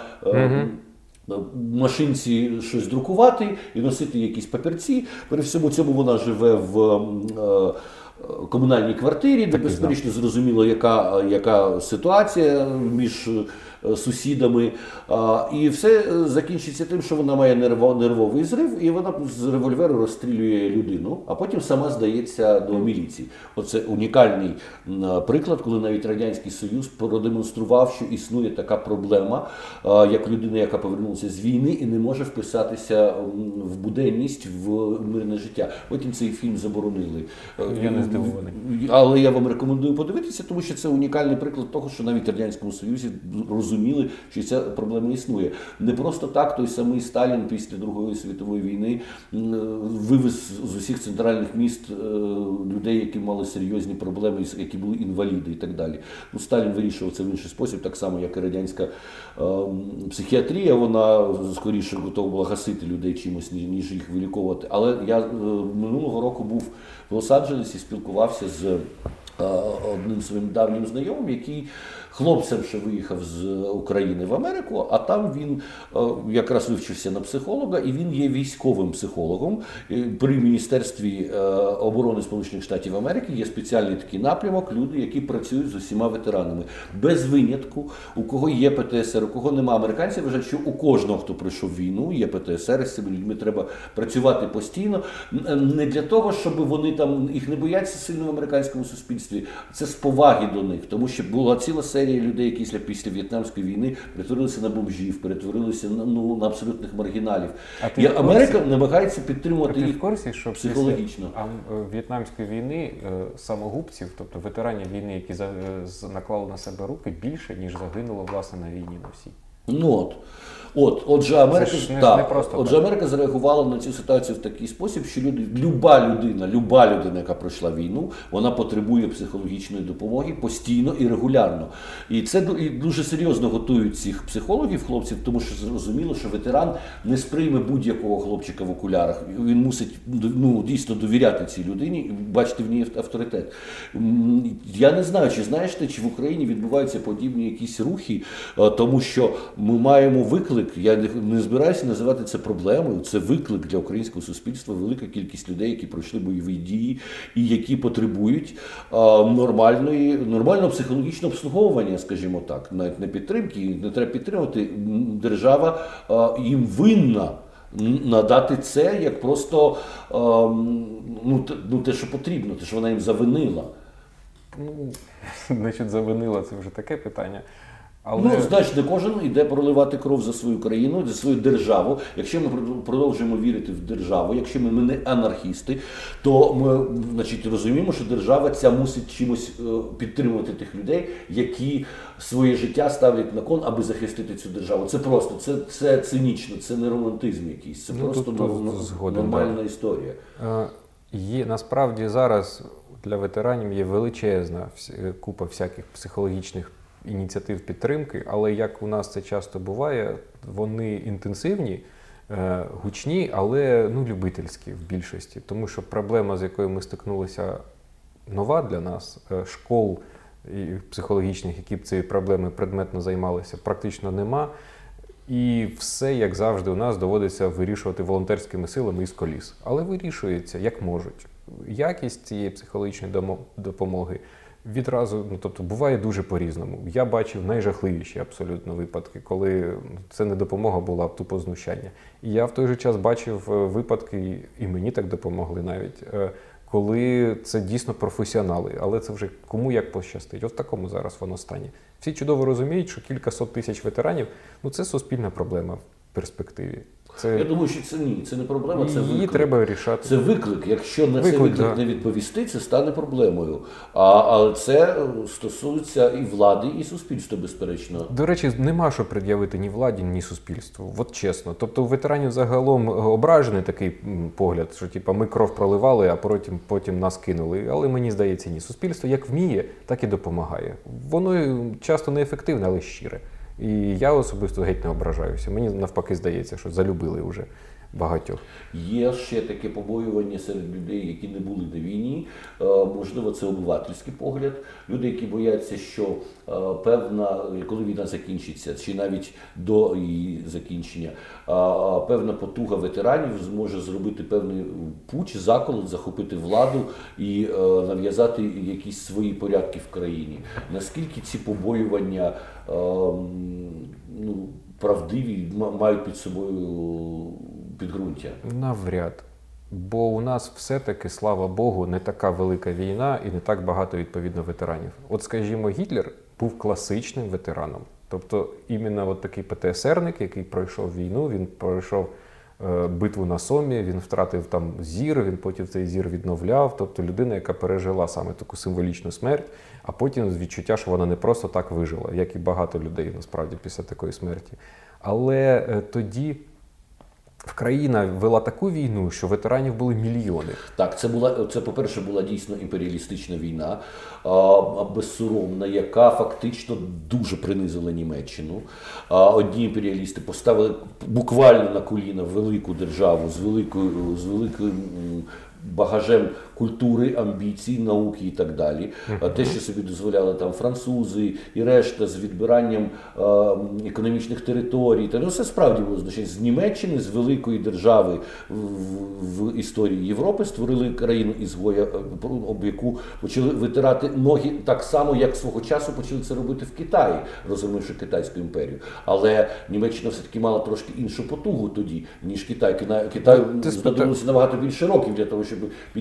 машинці щось друкувати і носити якісь папірці. При всьому цьому вона живе в комунальній квартирі, де безперечно зрозуміло, яка ситуація між сусідами. І все закінчиться тим, що вона має нервовий зрив, і вона з револьверу розстрілює людину, а потім сама здається до міліції. Оце унікальний приклад, коли навіть Радянський Союз продемонстрував, що існує така проблема, як людина, яка повернулася з війни і не може вписатися в буденність, в мирне життя. Потім цей фільм заборонили. Я не здивований. Але я вам рекомендую подивитися, тому що це унікальний приклад того, що навіть в Радянському Союзі розуміли, що ця проблема існує. Не просто так той самий Сталін після Другої світової війни вивез з усіх центральних міст людей, які мали серйозні проблеми, які були інваліди і так далі. Сталін вирішував це в інший спосіб, так само, як і радянська психіатрія, вона скоріше готова була гасити людей чимось, ніж їх виліковувати. Але я минулого року був в Лос-Анджелесі, спілкувався з одним своїм давнім знайомим, який хлопцем ще виїхав з України в Америку, а там він якраз вивчився на психолога, і він є військовим психологом. При Міністерстві оборони Сполучених Штатів Америки є спеціальний такий напрямок, люди, які працюють з усіма ветеранами. Без винятку, у кого є ПТСР, у кого нема. Американці вважають, що у кожного, хто пройшов війну, є ПТСР, з цими людьми треба працювати постійно. Не для того, щоб вони там, їх не бояться сильно в американському суспільстві, це з поваги до них, тому що була ціла серія людей, які після В'єтнамської війни перетворилися на бомжів, перетворилися на абсолютних маргіналів. І Америка намагається підтримувати їх психологічно. А В'єтнамської війни самогубців, тобто ветеранів війни, які наклали на себе руки, більше, ніж загинуло, власне, на війні на всій. Отже, Америка, Це ж не просто отже, так. Америка зареагувала на цю ситуацію в такий спосіб, що люба людина, яка пройшла війну, вона потребує психологічної допомоги постійно і регулярно. І це дуже серйозно готують цих психологів, хлопців, тому що зрозуміло, що ветеран не сприйме будь-якого хлопчика в окулярах. Він мусить дійсно довіряти цій людині і бачити в ній авторитет. Я не знаю, чи знаєш ти, чи в Україні відбуваються подібні якісь рухи, тому що ми маємо виклик. Я не збираюся називати це проблемою. Це виклик для українського суспільства. Велика кількість людей, які пройшли бойові дії і які потребують нормального психологічного обслуговування, скажімо так, навіть не підтримки, не треба підтримувати. Держава їм винна надати це як просто те, що потрібно, те, що вона їм завинила. Значить, завинила, це вже таке питання. Але... Значить, не кожен йде проливати кров за свою країну, за свою державу. Якщо ми продовжуємо вірити в державу, якщо ми не анархісти, то ми, значить, розуміємо, що держава ця мусить чимось підтримувати тих людей, які своє життя ставлять на кон, аби захистити цю державу. Це просто, це цинічно, це не романтизм якийсь, це просто нормальна історія. Насправді зараз для ветеранів є величезна купа всяких психологічних ініціатив підтримки, але як у нас це часто буває, вони інтенсивні, гучні, але любительські в більшості. Тому що проблема, з якою ми стикнулися, нова для нас, школ психологічних, які б цією проблемою предметно займалися, практично нема. І все, як завжди, у нас доводиться вирішувати волонтерськими силами із коліс. Але вирішується, як можуть. Якість цієї психологічної допомоги відразу, тобто буває дуже по-різному. Я бачив найжахливіші абсолютно випадки, коли це не допомога була, а тупо знущання. І я в той же час бачив випадки, і мені так допомогли навіть, коли це дійсно професіонали, але це вже кому як пощастить. От в такому зараз воно стані. Всі чудово розуміють, що кількасот тисяч ветеранів – це суспільна проблема в перспективі. Я думаю, що це не проблема, це виклик. Її треба вирішати. Це виклик. Якщо на цей виклик не відповісти, це стане проблемою. Але це стосується і влади, і суспільства, безперечно. До речі, нема що пред'явити ні владі, ні суспільству. От чесно. Тобто у ветеранів загалом ображений такий погляд, що ми кров проливали, а потім нас кинули. Але мені здається, ні. Суспільство як вміє, так і допомагає. Воно часто неефективне, але щире. І я особисто геть не ображаюся. Мені навпаки здається, що залюбили вже багатьох. Є ще таке побоювання серед людей, які не були на війні. Можливо, це обивательський погляд. Люди, які бояться, що коли війна закінчиться, чи навіть до її закінчення, певна потуга ветеранів зможе зробити певний путч, заколот, захопити владу і нав'язати якісь свої порядки в країні. Наскільки ці побоювання правдиві, мають під собою підґрунтя? Навряд. Бо у нас все-таки, слава Богу, не така велика війна і не так багато, відповідно, ветеранів. От, скажімо, Гітлер був класичним ветераном. Тобто, іменно такий ПТСРник, який пройшов війну, він пройшов битву на Сомі, він втратив там зір, він потім цей зір відновляв. Тобто, людина, яка пережила саме таку символічну смерть, а потім відчуття, що вона не просто так вижила, як і багато людей, насправді, після такої смерті. Але тоді країна вела таку війну, що ветеранів були мільйони. Так, це по-перше, була дійсно імперіалістична війна, безсоромна, яка фактично дуже принизила Німеччину. Одні імперіалісти поставили буквально на коліна велику державу з великим багажем культури, амбіцій, науки і так далі. Те, що собі дозволяли там французи і решта з відбиранням економічних територій. Це справді було значення. З Німеччини, з великої держави в історії Європи створили країну-ізгоя, об яку почали витирати ноги так само, як свого часу почали це робити в Китаї, розгромивши Китайську імперію. Але Німеччина все-таки мала трошки іншу потугу тоді, ніж Китай. Китаю знадобилося набагато більше років для того, щоб піднятися.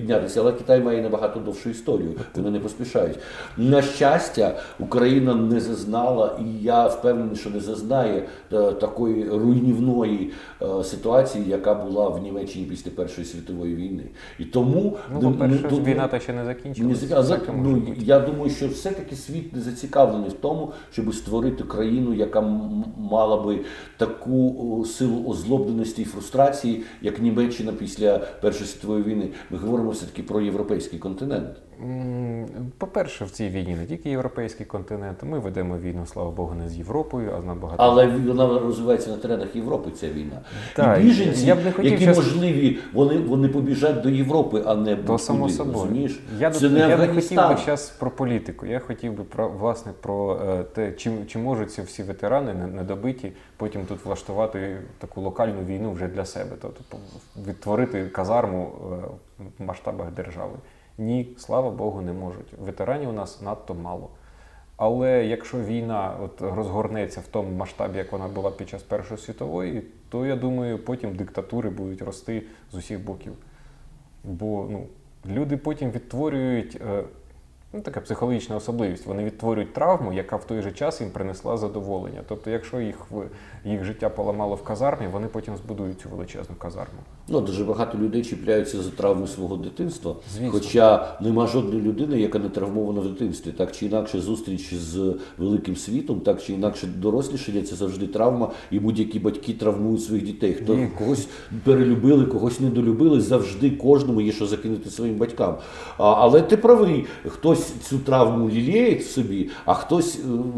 але Китай має набагато довшу історію, вони не поспішають. На щастя, Україна не зазнала, і я впевнений, що не зазнає такої руйнівної ситуації, яка була в Німеччині після Першої світової війни. І тому по-перше, війна та ще не закінчилася. Я думаю, що все-таки світ не зацікавлений в тому, щоб створити країну, яка мала би таку силу озлобленості і фрустрації, як Німеччина після Першої світової війни. Ми говоримо все-таки про європейський континент. По-перше, в цій війні не тільки європейський континент. Ми ведемо війну, слава Богу, не з Європою, а з набагато... Але вона розвивається на теренах Європи, ця війна. Так, і біженці, я б не хотів які можливі, вони побіжать до Європи, а не то само собою. Я не хотів би зараз про політику. Я хотів би про те, чи можуть ці всі ветерани недобиті потім тут влаштувати таку локальну війну вже для себе, тобто відтворити казарму в масштабах держави. Ні, слава Богу, не можуть. Ветеранів у нас надто мало. Але якщо війна розгорнеться в тому масштабі, як вона була під час Першої світової, то, я думаю, потім диктатури будуть рости з усіх боків. Бо люди потім відтворюють, така психологічна особливість, вони відтворюють травму, яка в той же час їм принесла задоволення. Тобто, якщо їх життя поламало в казармі, вони потім збудують цю величезну казарму. Дуже багато людей чіпляються за травми свого дитинства, звісно. Хоча нема жодної людини, яка не травмована в дитинстві. Так чи інакше зустріч з великим світом, так чи інакше дорослішання – це завжди травма, і будь-які батьки травмують своїх дітей. Хто когось перелюбили, когось недолюбили, завжди кожному є що закинути своїм батькам. Але ти правий, хтось цю травму лілеє в собі, а хтось...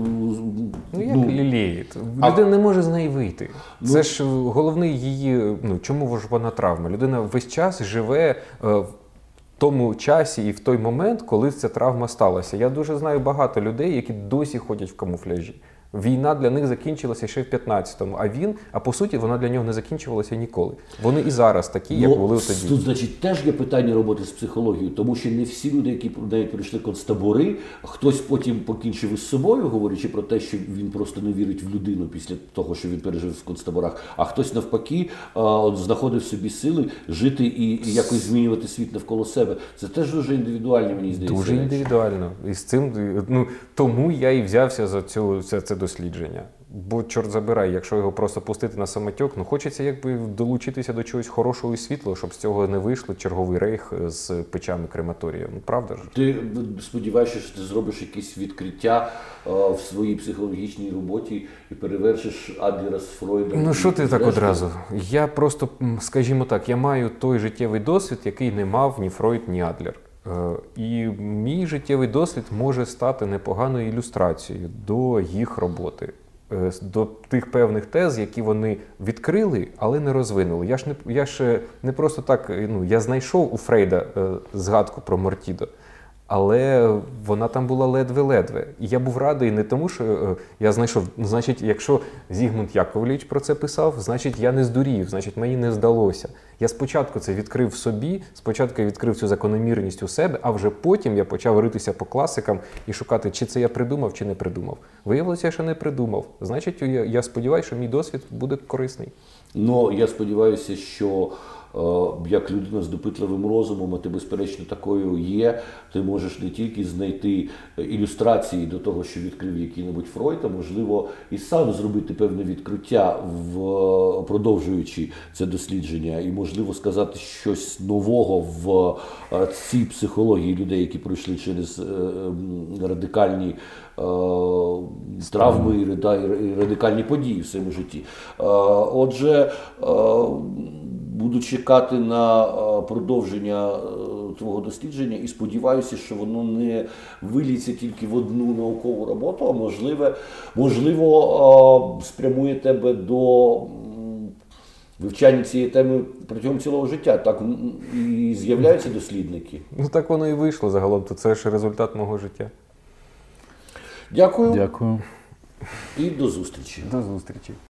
Як лілеє? Людина не може з неї вийти. Це ж головний її... Чому ж вона травма? Людина весь час живе в тому часі і в той момент, коли ця травма сталася. Я дуже знаю багато людей, які досі ходять в камуфляжі. Війна для них закінчилася ще в 15-му, а по суті вона для нього не закінчувалася ніколи. Вони і зараз такі, як були тоді. Тут, значить, теж є питання роботи з психологією, тому що не всі люди, які навіть прийшли концтабори, хтось потім покінчив із собою, говорячи про те, що він просто не вірить в людину після того, що він пережив в концтаборах, а хтось навпаки знаходив собі сили жити і якось змінювати світ навколо себе. Це теж дуже індивідуально, мені здається. Дуже індивідуально. І з цим, тому я і взявся за це дослідження. Бо, чорт забирай, якщо його просто пустити на самотек, хочеться долучитися до чогось хорошого і світлого, щоб з цього не вийшло черговий рейх з печами крематорія. Правда ж? Ти сподіваєшся, що ти зробиш якісь відкриття в своїй психологічній роботі і перевершиш Адлера з Фройдом? Що ти так одразу? Я просто, скажімо так, я маю той життєвий досвід, який не мав ні Фройд, ні Адлер. І мій життєвий досвід може стати непоганою ілюстрацією до їх роботи, до тих певних тез, які вони відкрили, але не розвинули. Я ж не просто так, я знайшов у Фрейда згадку про Мортідо, але вона там була ледве-ледве. І я був радий не тому, що я знайшов, значить, якщо Зігмунд Яковлевич про це писав, значить, я не здурів, значить, мені не здалося. Я спочатку це відкрив в собі, спочатку я відкрив цю закономірність у себе, а вже потім я почав ритися по класикам і шукати, чи це я придумав, чи не придумав. Виявилося, що не придумав. Значить, я сподіваюся, що мій досвід буде корисний. Я сподіваюся, що як людина з допитливим розумом, а ти, безперечно, такою є, ти можеш не тільки знайти ілюстрації до того, що відкрив який-небудь Фройд, а можливо і сам зробити певне відкриття, продовжуючи це дослідження, і можливо сказати щось нового в цій психології людей, які пройшли через радикальні травми і радикальні події в своєму житті. Отже, буду чекати на продовження твого дослідження і сподіваюся, що воно не виліться тільки в одну наукову роботу, а можливо спрямує тебе до вивчання цієї теми протягом цілого життя. Так і з'являються дослідники. Так воно і вийшло загалом, то це ж результат мого життя. Дякую. Дякую. І до зустрічі. До зустрічі.